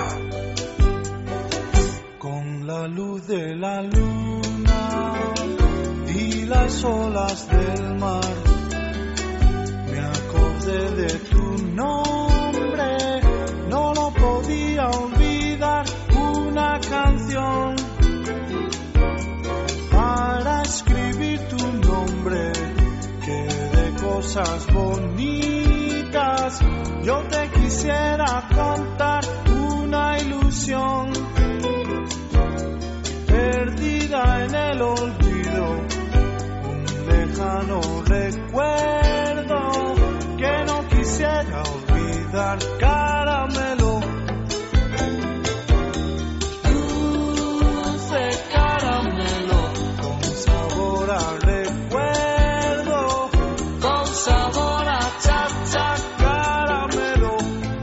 Con la luz de la luna y las olas del mar, me acordé de tu nombre, no lo podía olvidar. Una canción para escribir tu nombre, que de cosas bonitas yo te quisiera contar. Una ilusión perdida en el olvido, un lejano recuerdo que no quisiera olvidar. Caramelo, dulce caramelo, con sabor a recuerdo, con sabor a cha-cha. Caramelo,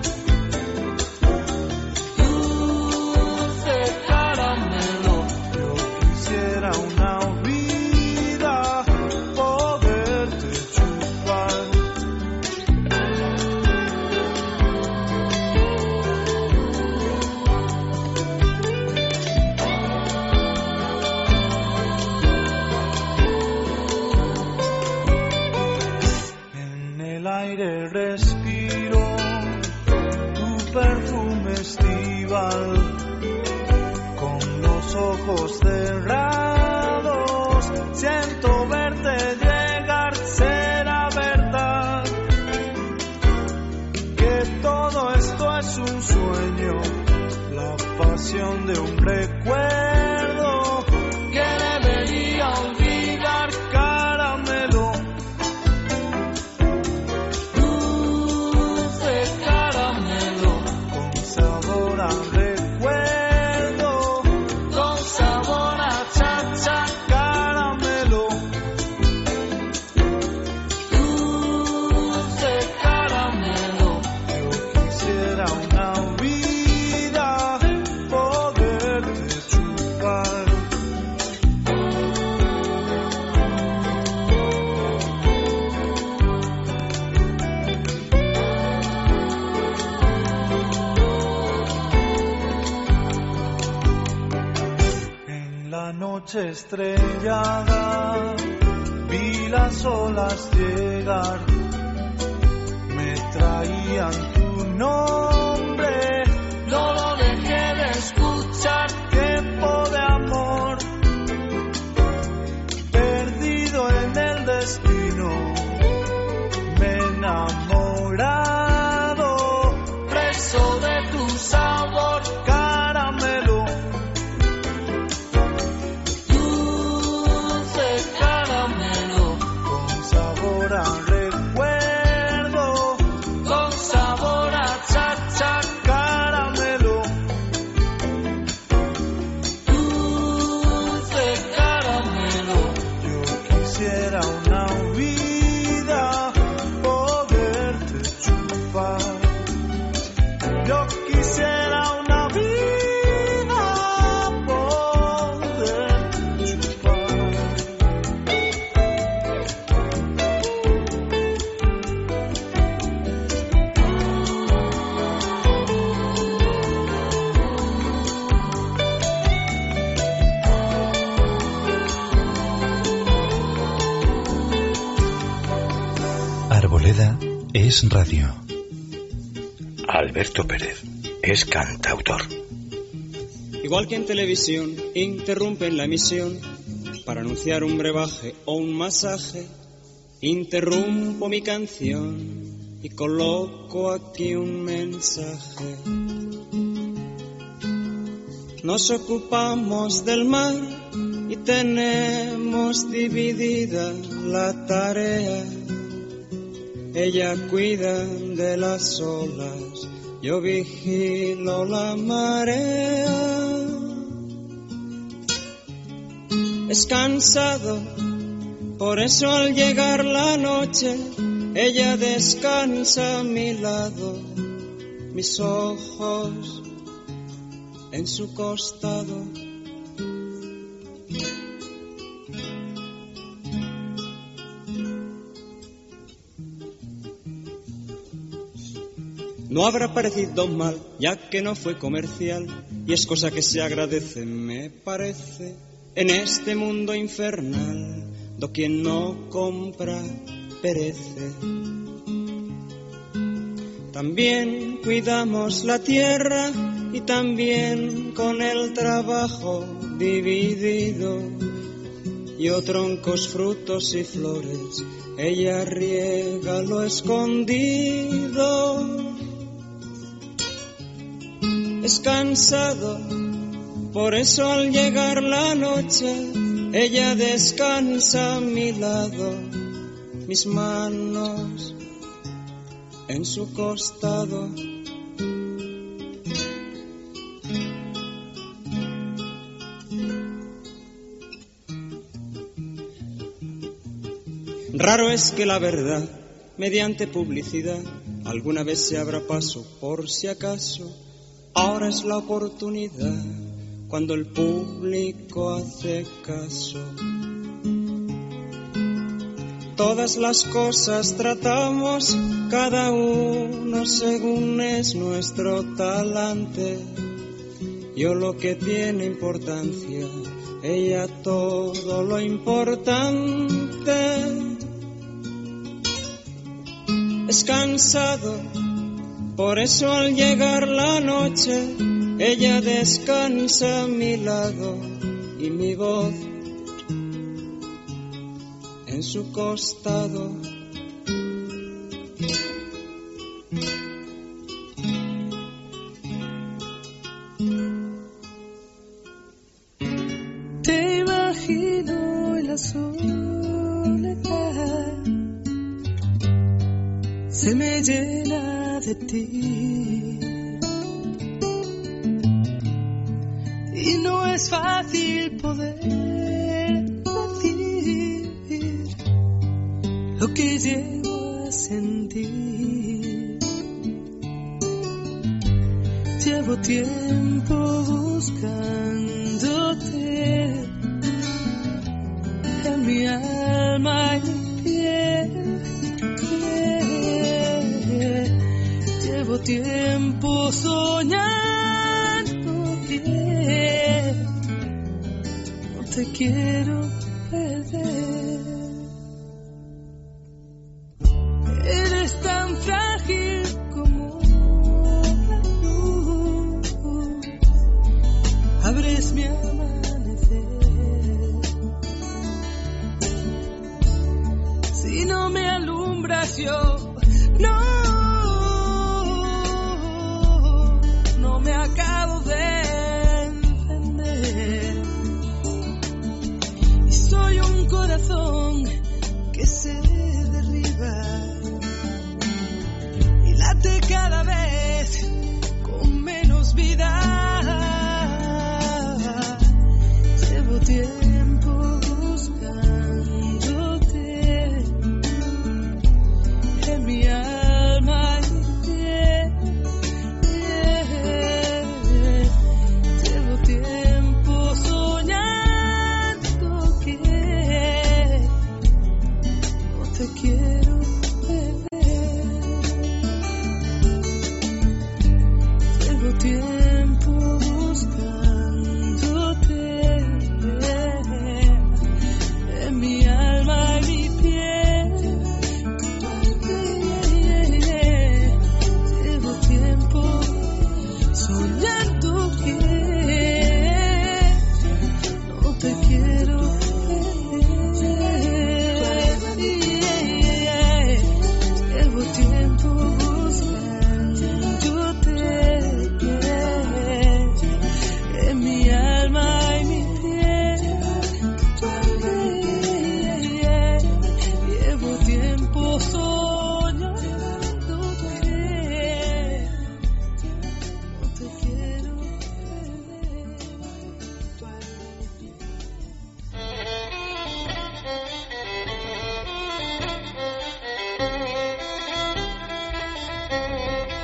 dulce caramelo, yo quisiera una vida poderte chupar. En el aire respiro tu perfume estival, con los ojos cerrados siento verte llegar. Será verdad que todo esto es un sueño, la pasión de un recuerdo que debería olvidar. Caramelo, dulce caramelo, con sabor a recuerdo, con sabor a cha-cha. Caramelo, dulce caramelo, yo quisiera una vida poderte chupar. En la noche estrellada vi las olas llegar, me traían tu nombre, no lo dejé de escuchar. Tiempo de amor, perdido en el destino, me he enamorado es radio. Alberto Pérez es cantautor. Igual que en televisión interrumpen la emisión para anunciar un brebaje o un masaje, interrumpo mi canción y coloco aquí un mensaje. Nos ocupamos del mar y tenemos dividida la tarea. Ella cuida de las olas, yo vigilo la marea. Es cansado, por eso al llegar la noche, ella descansa a mi lado, mis ojos en su costado. No habrá parecido mal, ya que no fue comercial, y es cosa que se agradece, me parece, en este mundo infernal, do quien no compra perece. También cuidamos la tierra y también con el trabajo dividido, yo troncos, frutos y flores, ella riega lo escondido. Es cansado, por eso al llegar la noche, ella descansa a mi lado, mis manos en su costado. Raro es que la verdad, mediante publicidad, alguna vez se abra paso por si acaso. Ahora es la oportunidad, cuando el público hace caso. Todas las cosas tratamos, cada uno según es nuestro talante. Yo lo que tiene importancia, ella todo lo importante. Es cansado, por eso al llegar la noche, ella descansa a mi lado y mi voz en su costado. Te imagino en la soledad, se me llena de ti, y no es fácil poder decir lo que llevo a sentir. Llevo tiempo buscándote en mi alma y mi piel. Llevo tiempo soñando bien, no te quiero perder. Eres tan frágil como la luz, abres mi amanecer. Si no me alumbras yo, no me acabo de encender. Y soy un corazón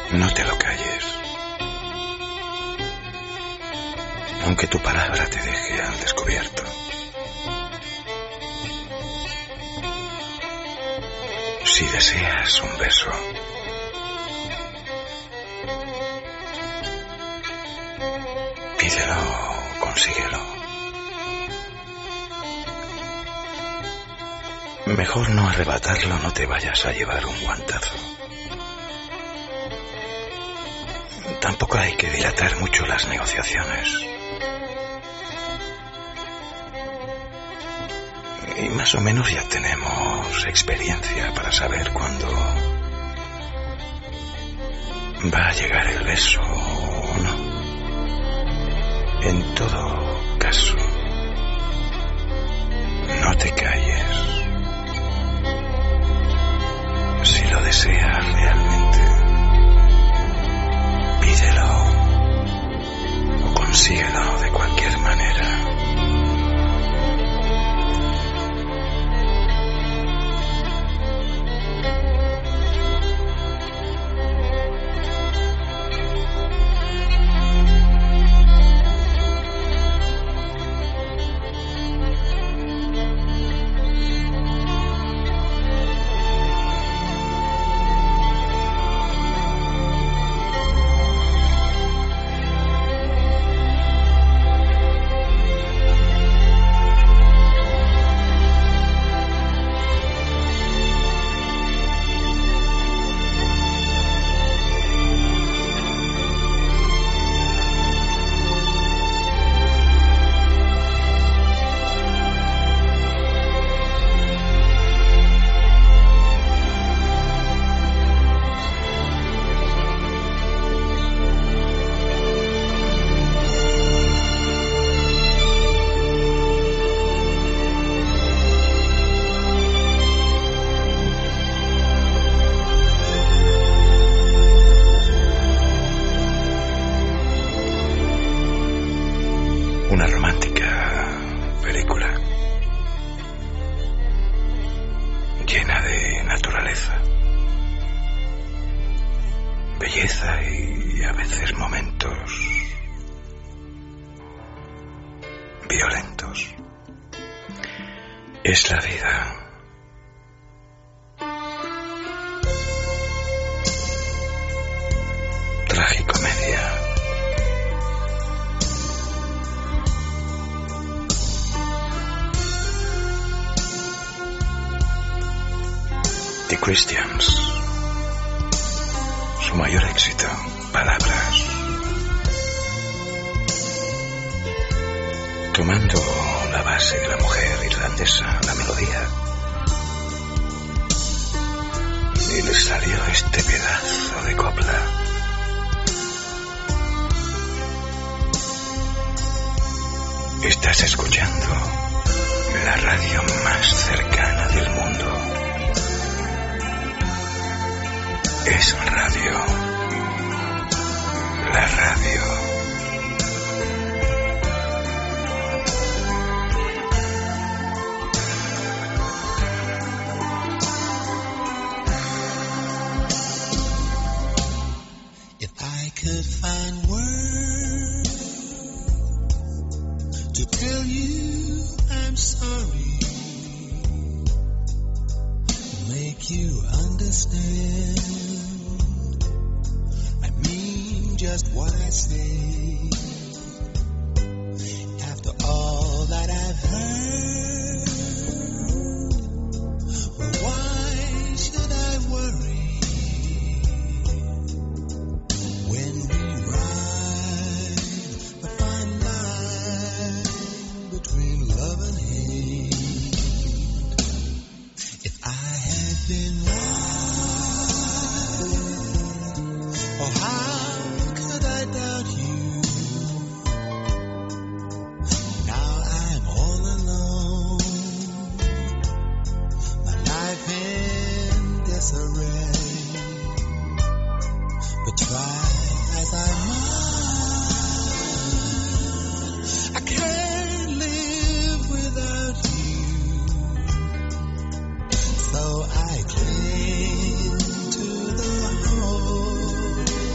No te lo calles. Aunque tu palabra te deje al descubierto. Si deseas un beso, pídelo, consíguelo. Mejor no arrebatarlo, no te vayas a llevar un guantazo. Tampoco hay que dilatar mucho las negociaciones. Y más o menos ya tenemos experiencia para saber cuándo va a llegar el beso o no. En todo caso, no te calles. Si lo deseas realmente, pídelo o consíguelo de cualquier manera. Una romántica película llena de naturaleza, belleza y a veces momentos violentos. Es la vida. Tragicomedia. The Christians. Su mayor éxito, Palabras. Tomando la base de la mujer irlandesa, la melodía, y le salió este pedazo de copla. Estás escuchando la radio más cercana del mundo. Es radio. La radio. If I could find words to tell you I'm sorry, make you understand, just what I say. After all that I've heard, well, why should I worry when we ride a fine line between love and hate? If I had been right, or how doubt you. Now I'm all alone, my life in disarray. But try as I might, I can't live without you. So I cling to the hope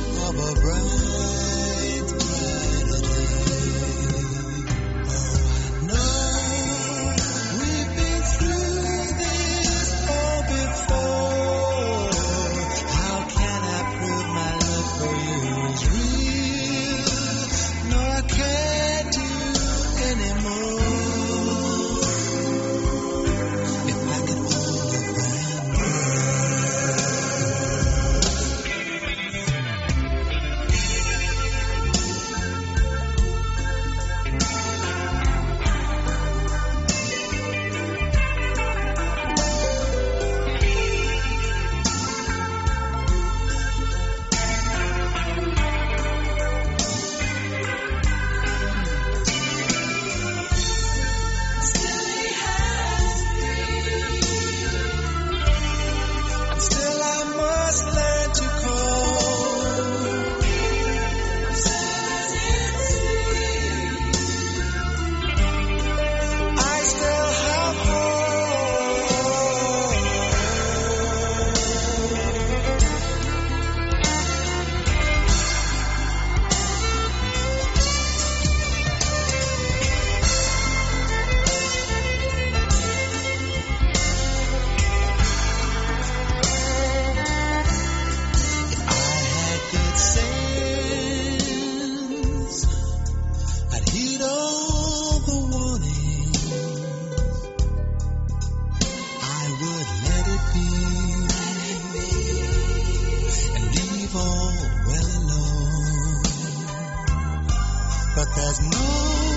but there's no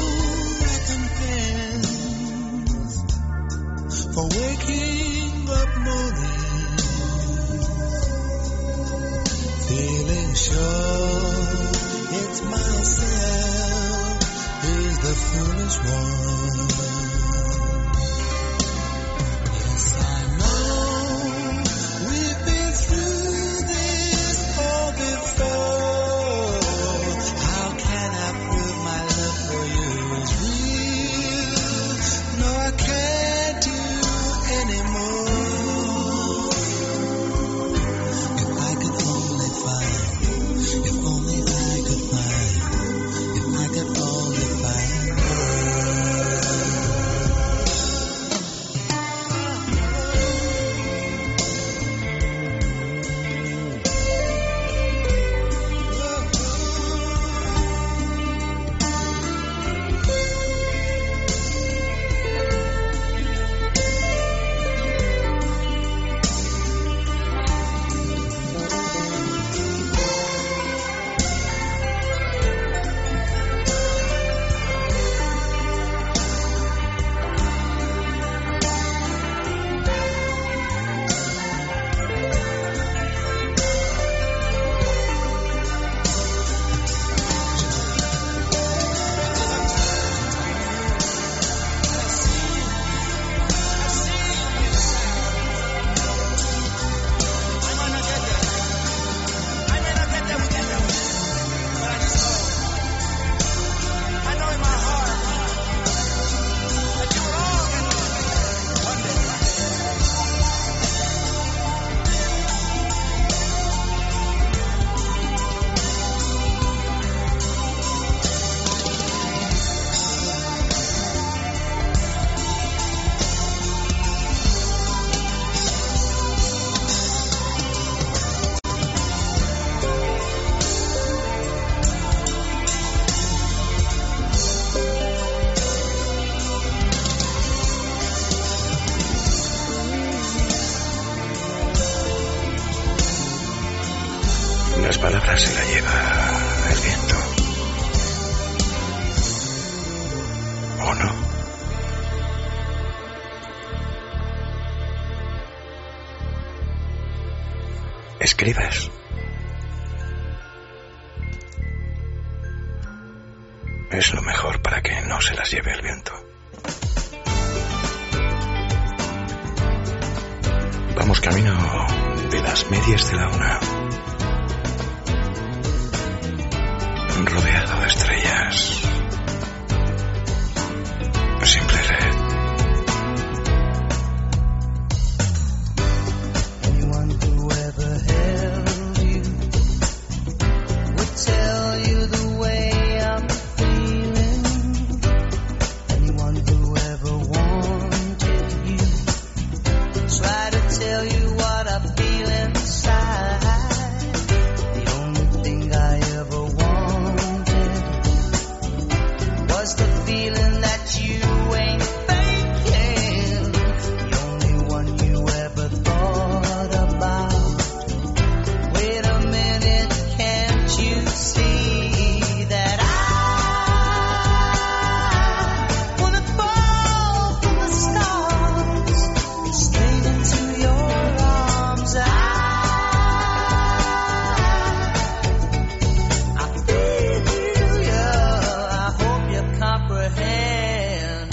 recompense for waking up moaning, feeling sure it's myself who's the foolish one. Yes, I know we've been through this all before. How can I prove my love for you is real? No, I can't do anymore. If I could only find, if only I could find, if I could only find her. Las palabras se las lleva el viento. ¿O no? Escribes. Es lo mejor para que no se las lleve el viento. Vamos camino de las medias de la una. Rodeado de estrellas. Simple red. Anyone who ever held you would tell you the way I'm feeling. Anyone who ever wanted you try to tell you what I feel inside. The only thing I ever wanted was the feeling that you ain't faking. The only one you ever thought about. Wait a minute, can't you see that I wanna fall from the stars straight into your arms? I feel you, I hope you comprehend.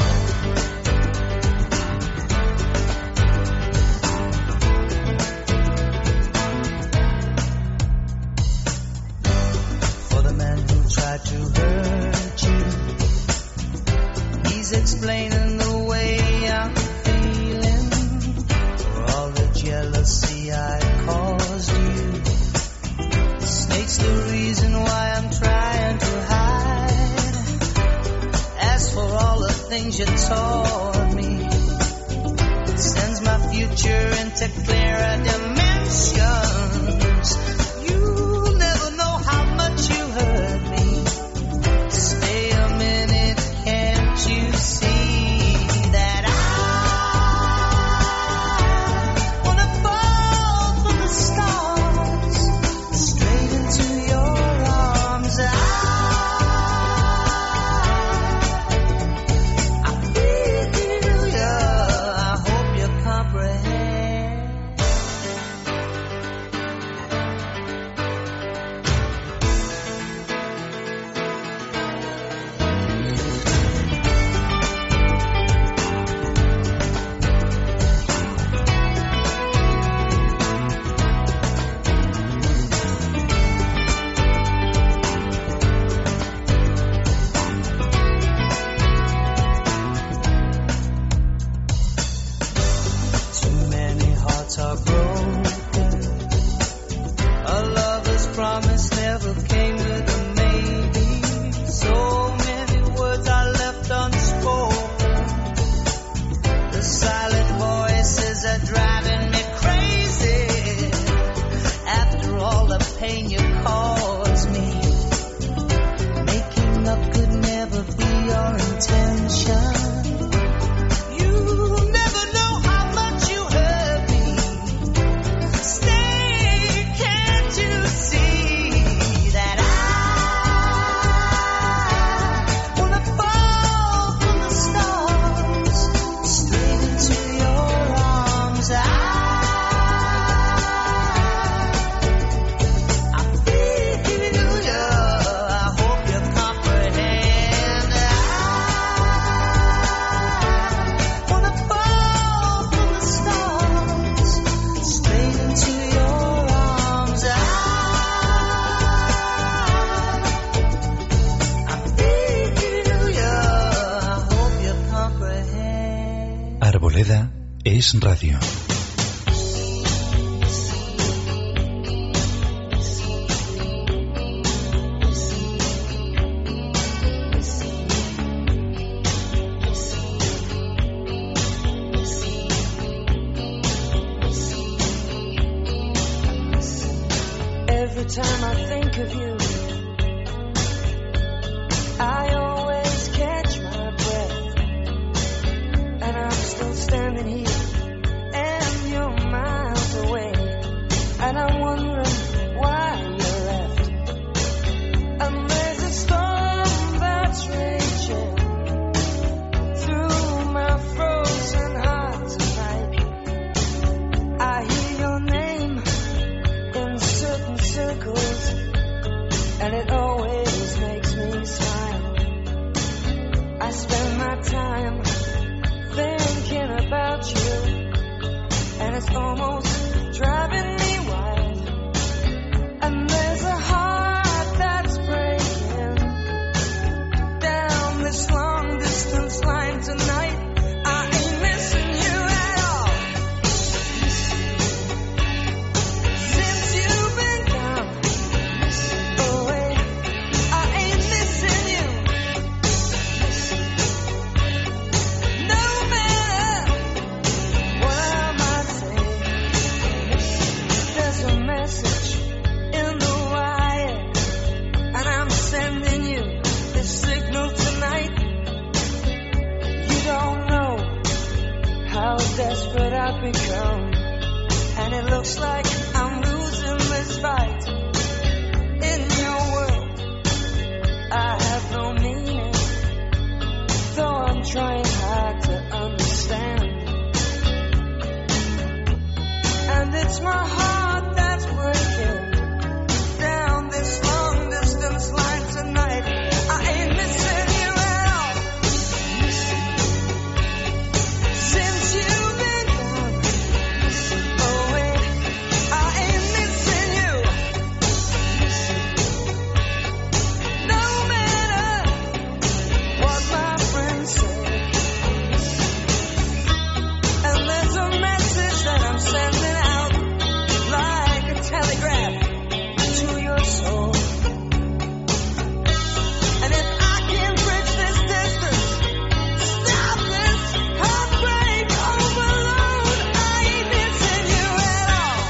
For the man who tried to hurt you, he's explaining the way I'm feeling. For all the jealousy I caused you, the snake's the reason why I'm trying to hide. As for all the things you taught me, it sends my future into clearer dimensions. You'll never know how much you hurt me. Stay a minute, can't you see that I wanna fall from the stars straight into your arms? I Arboleda es radio. Every time I think of you, I always catch my breath, and I'm still standing here, and you're miles away, and I'm wondering why you left. And there's a storm that's raging through my frozen heart tonight. I hear your name in certain circles, and it always makes me smile. I spend my time thinking about you, and it's almost driving me wild. And there's a heart that's breaking down this long distance line tonight. I ain't missing you at all. Since you've been gone away, I ain't missing you. No matter what I might say, there's a message in the wire, and I'm sending you this signal tonight. You don't know how desperate I've become, and it looks like I'm losing this fight. In your world, I have no meaning, though I'm trying hard to understand. And it's my heart that's breaking down this long distance line tonight. I ain't missing you at all. Since you've been gone away, I ain't missing you. No matter what my friends say. And there's a message that I'm sending out like a telegraph to your soul. And if I can bridge this distance, stop this heartbreak overload, I ain't missing you at all.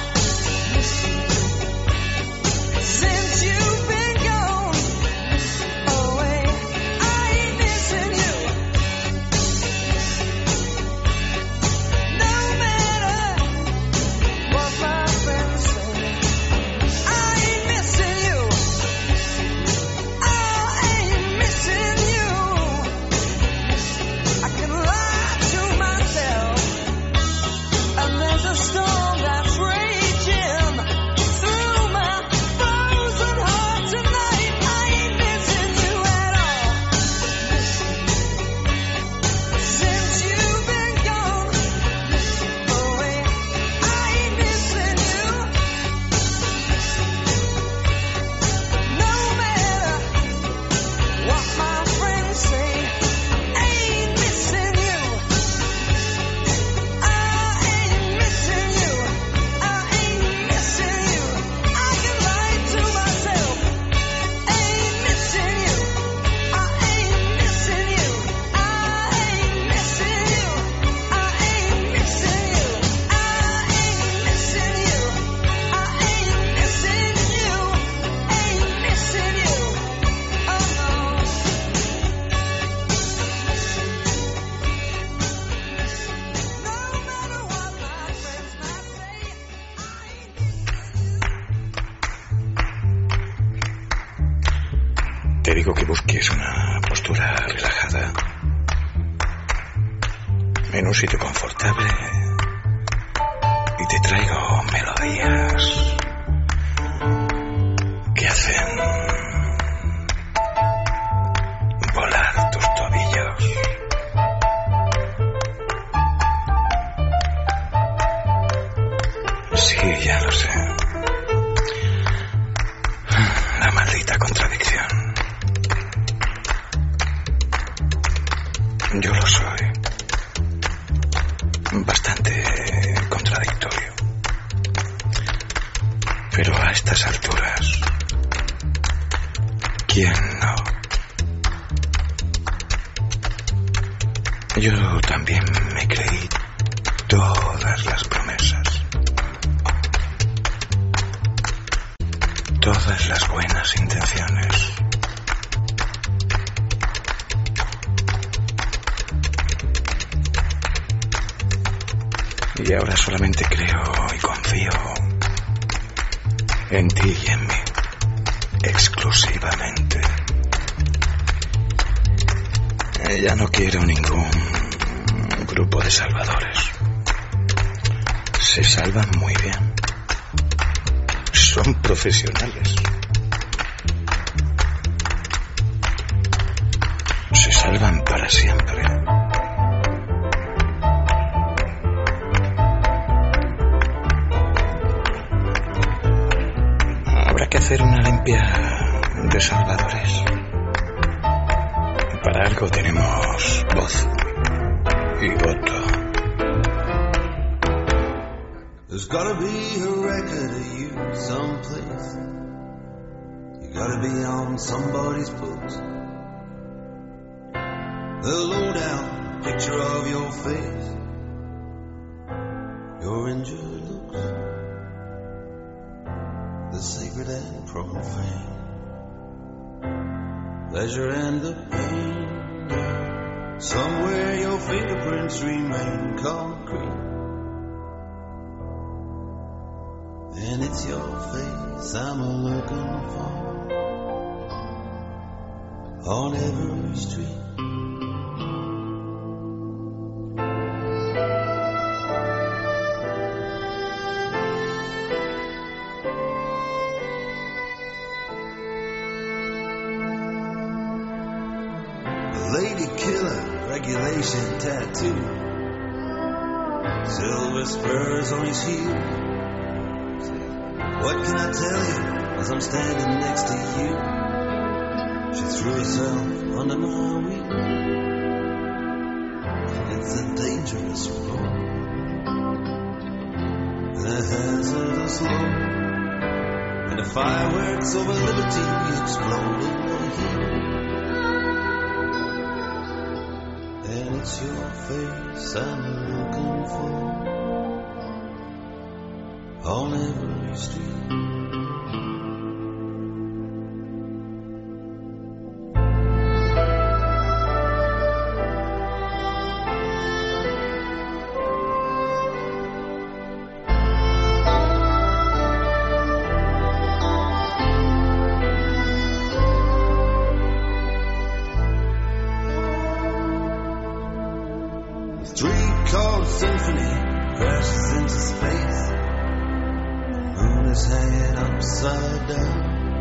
Since you've been gone away, I ain't missing you. No matter what my friends say, I ain't missing you. I ain't missing you. I can lie to myself, and there's a storm that's raging through my frozen heart tonight. I ain't missing you at all. Since you've been gone away, I ain't missing you. No matter what my friends say, I ain't missing you. I ain't missing you. I ain't missing you. I can lie to myself. Ain't missing you. I ain't missing you. I ain't missing you. I ain't missing you. I ain't missing you. I ain't missing you. Ain't missing you. Oh no. No matter what my friends might say, Te digo que busques una postura relajada en un sitio confortable y te traigo melodías que hacen volar tus tobillos. Sí, ya lo sé. La maldita contradicción. Yo lo soy. ¿Quién no? Yo también me creí todas las promesas, todas las buenas intenciones. Y ahora solamente creo y confío en ti y en mí, exclusivamente. Ya no quiero ningún grupo de salvadores. Se salvan muy bien. Son profesionales. Se salvan para siempre. Habrá que hacer una limpia de salvadores. Para algo tenemos voz y voto. There's gotta be a record of you someplace. You gotta be on somebody's books. The lowdown picture of your face, your injured looks, the sacred and profane, pleasure and the pain. Somewhere your fingerprints remain concrete, and it's your face I'm looking for on every street. Lady killer, regulation tattoo, silver spurs on his heel. What can I tell you as I'm standing next to you? She threw herself under my wheel. It's a dangerous road and a hazardous load, and the fireworks over liberty explode in the heat. And it's your face I'm looking for on every street. Three-chord symphony crashes into space. The moon is hanging upside down.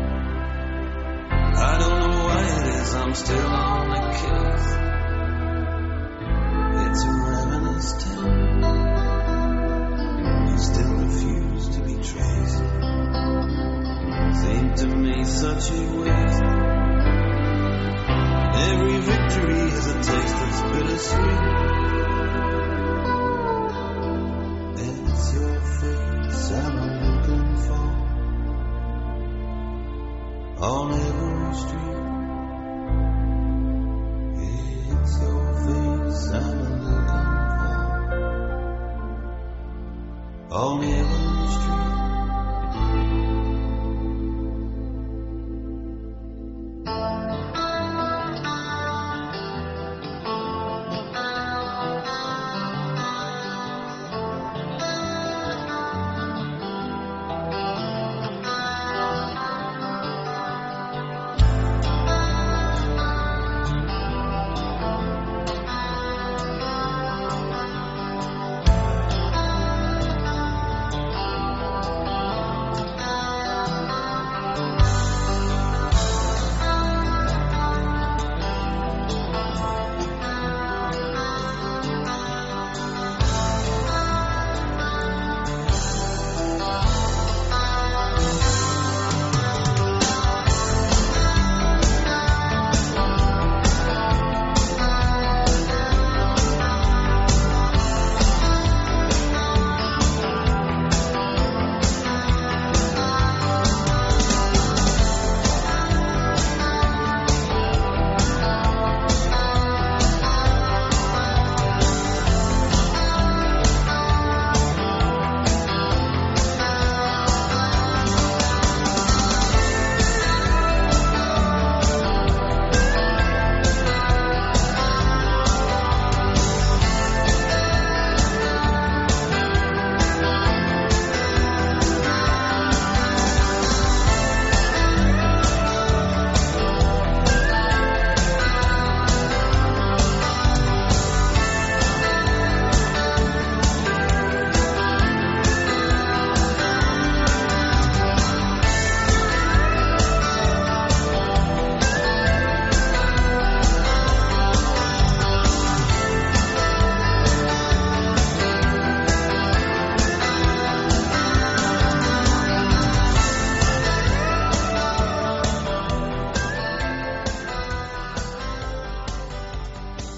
I don't know why it is I'm still on the case. It's a ravenous town. You still refuse to be traced. Seemed to me such a waste. Every victory has a taste that's bittersweet. I'm looking for on every street. It's your face I'm looking for on every street.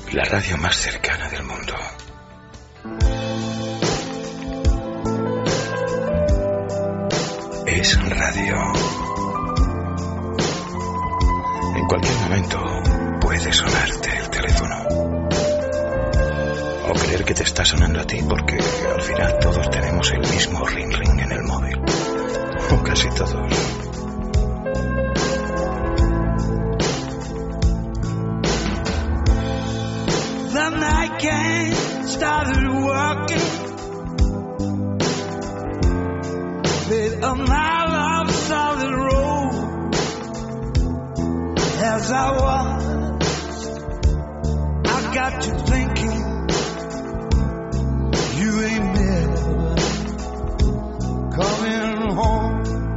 La radio más cercana del mundo. Es radio. En cualquier momento puede sonarte el teléfono. O creer que te está sonando a ti, porque al final todos tenemos el mismo ring ring en el móvil. O casi todos. The night gang started working with a mile of solid road. As I watched, I got to thinking, you ain't never coming home.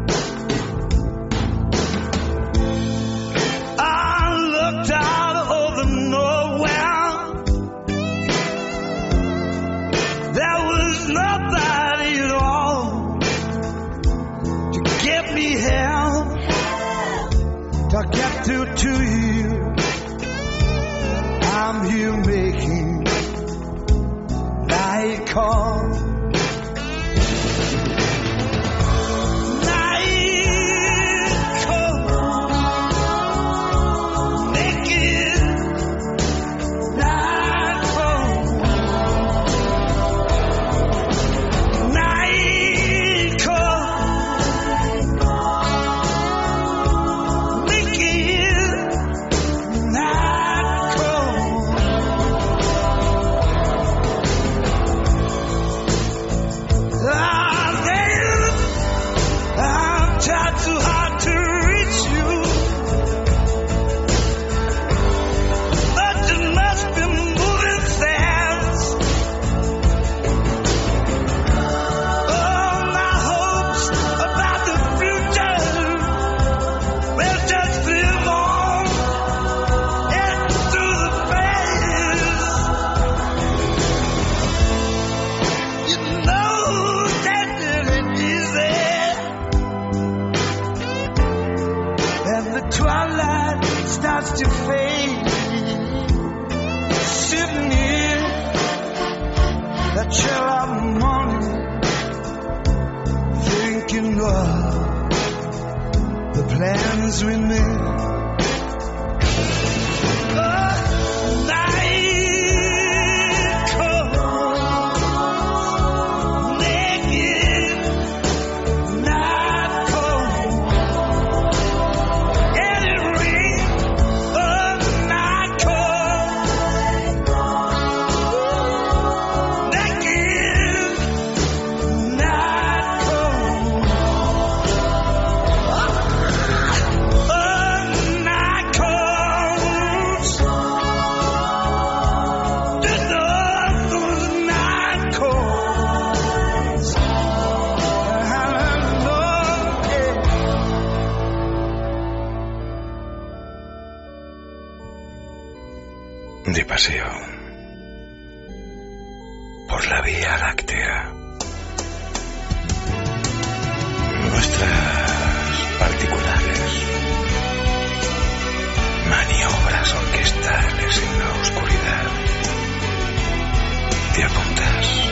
I looked out over nowhere. There was nobody at all to get me help, to get through to you. I'm here making night call. Plans we made. De paseo por la Vía Láctea. Nuestras particulares maniobras orquestales en la oscuridad. ¿Te apuntas?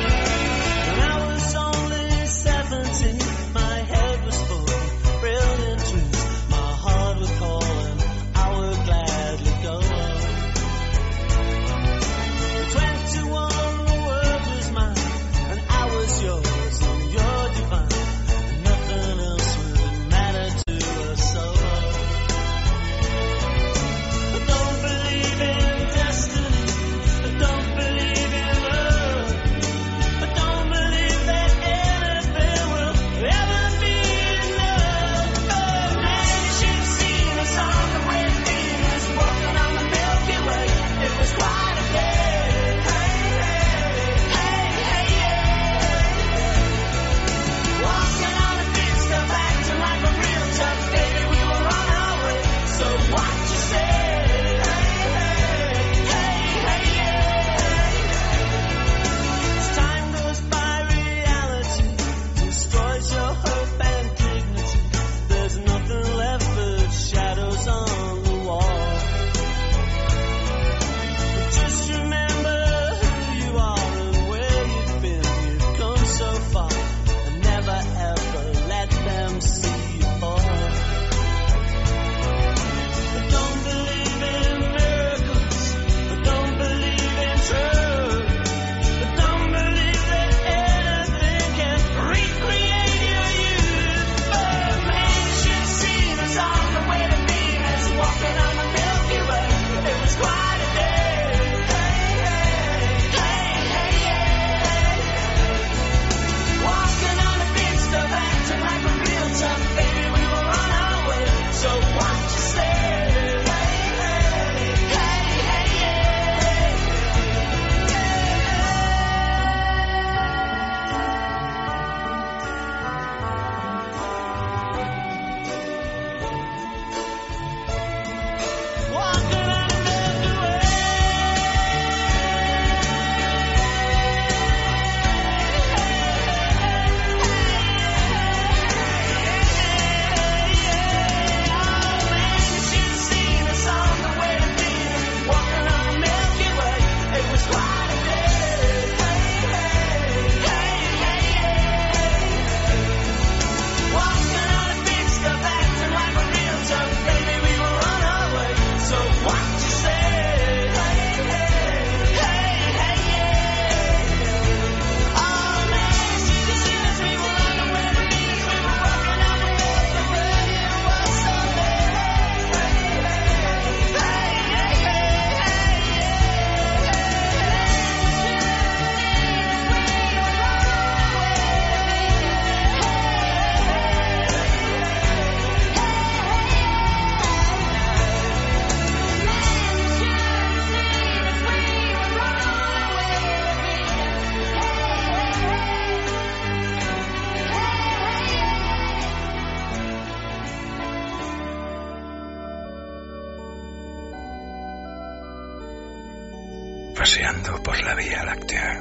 paseando por la Vía Láctea.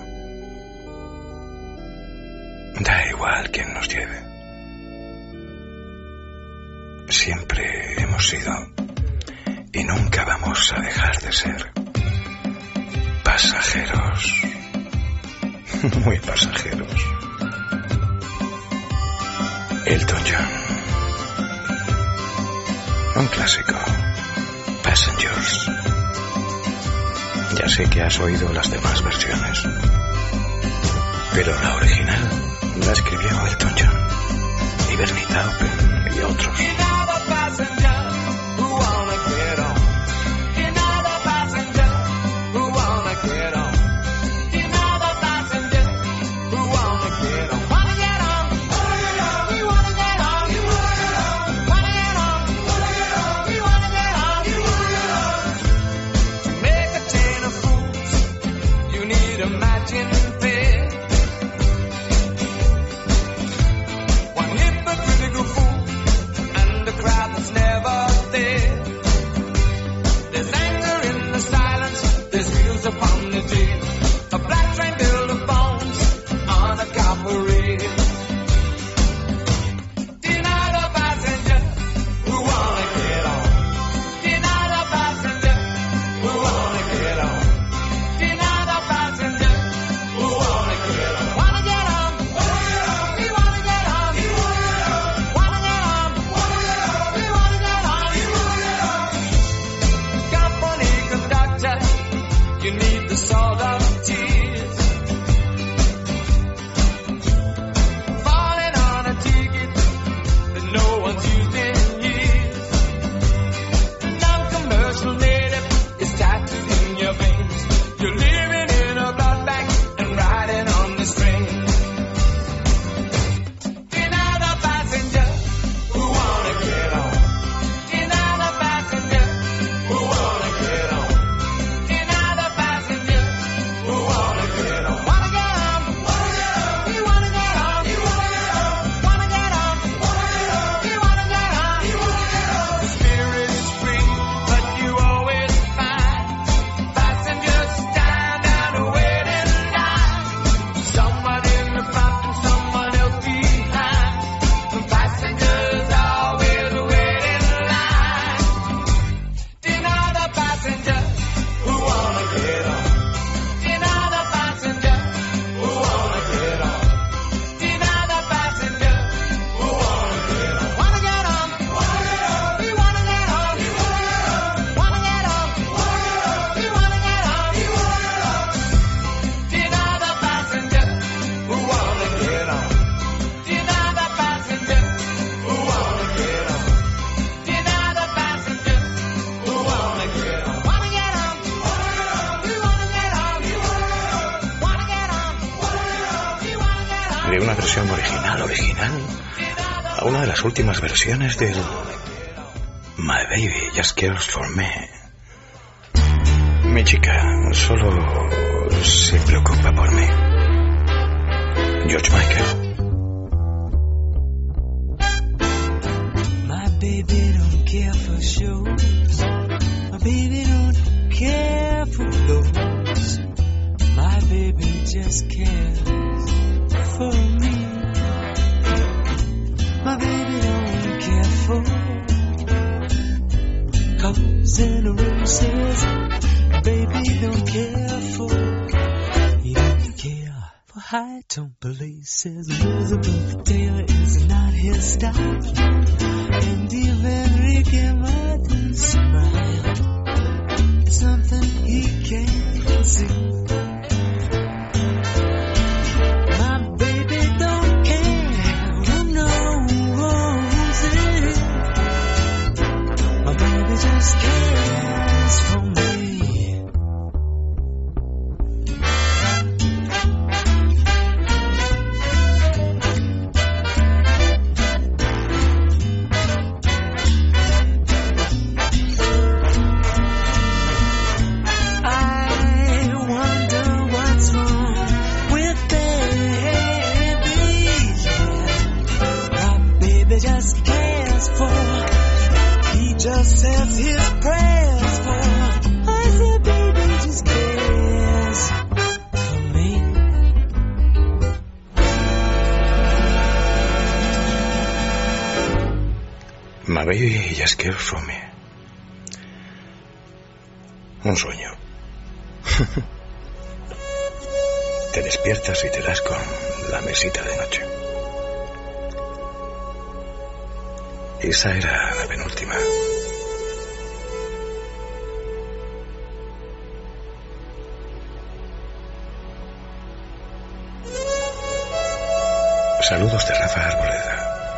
Da igual quién nos lleve. Siempre hemos sido y nunca vamos a dejar de ser pasajeros. Muy pasajeros. Elton John. Un clásico. Passengers. Ya sé que has oído las demás versiones, pero la original la escribió Elton John y Bernie Taupin y otros. De una versión original a una de las últimas versiones del My Baby Just Cares For Me. Mi chica solo se preocupa por mí. George Michael. My baby don't care for shows. My baby don't care for clothes. My baby just cares for me. My baby don't care for colors and roses. Baby don't care for. He don't care for high tone places. Elizabeth Taylor is not his style, and even Ricky Martin's smile is something he can't see. Just cares for me. I wonder what's wrong with baby. My baby just cares for. Just says his prayers for. I said, baby, just care. Ma baby just cares for me. Un sueño. Te despiertas y te das con la mesita de noche. Esa era la penúltima. Saludos de Rafa Arboleda.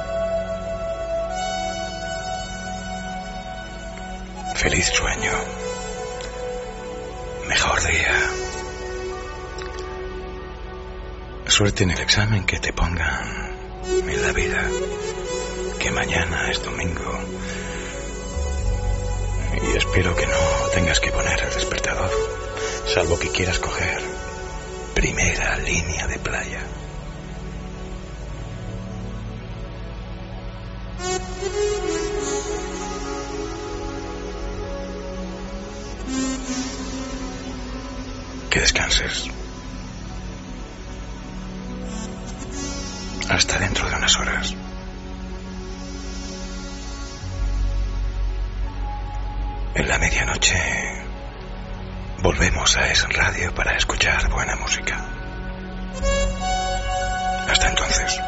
Feliz sueño. Mejor día. Suerte en el examen que te pongan en la vida. Que mañana es domingo. Y espero que no tengas que poner el despertador, salvo que quieras coger primera línea de playa. Que descanses. Hasta dentro de unas horas. En la medianoche volvemos a Es Radio para escuchar buena música. Hasta entonces.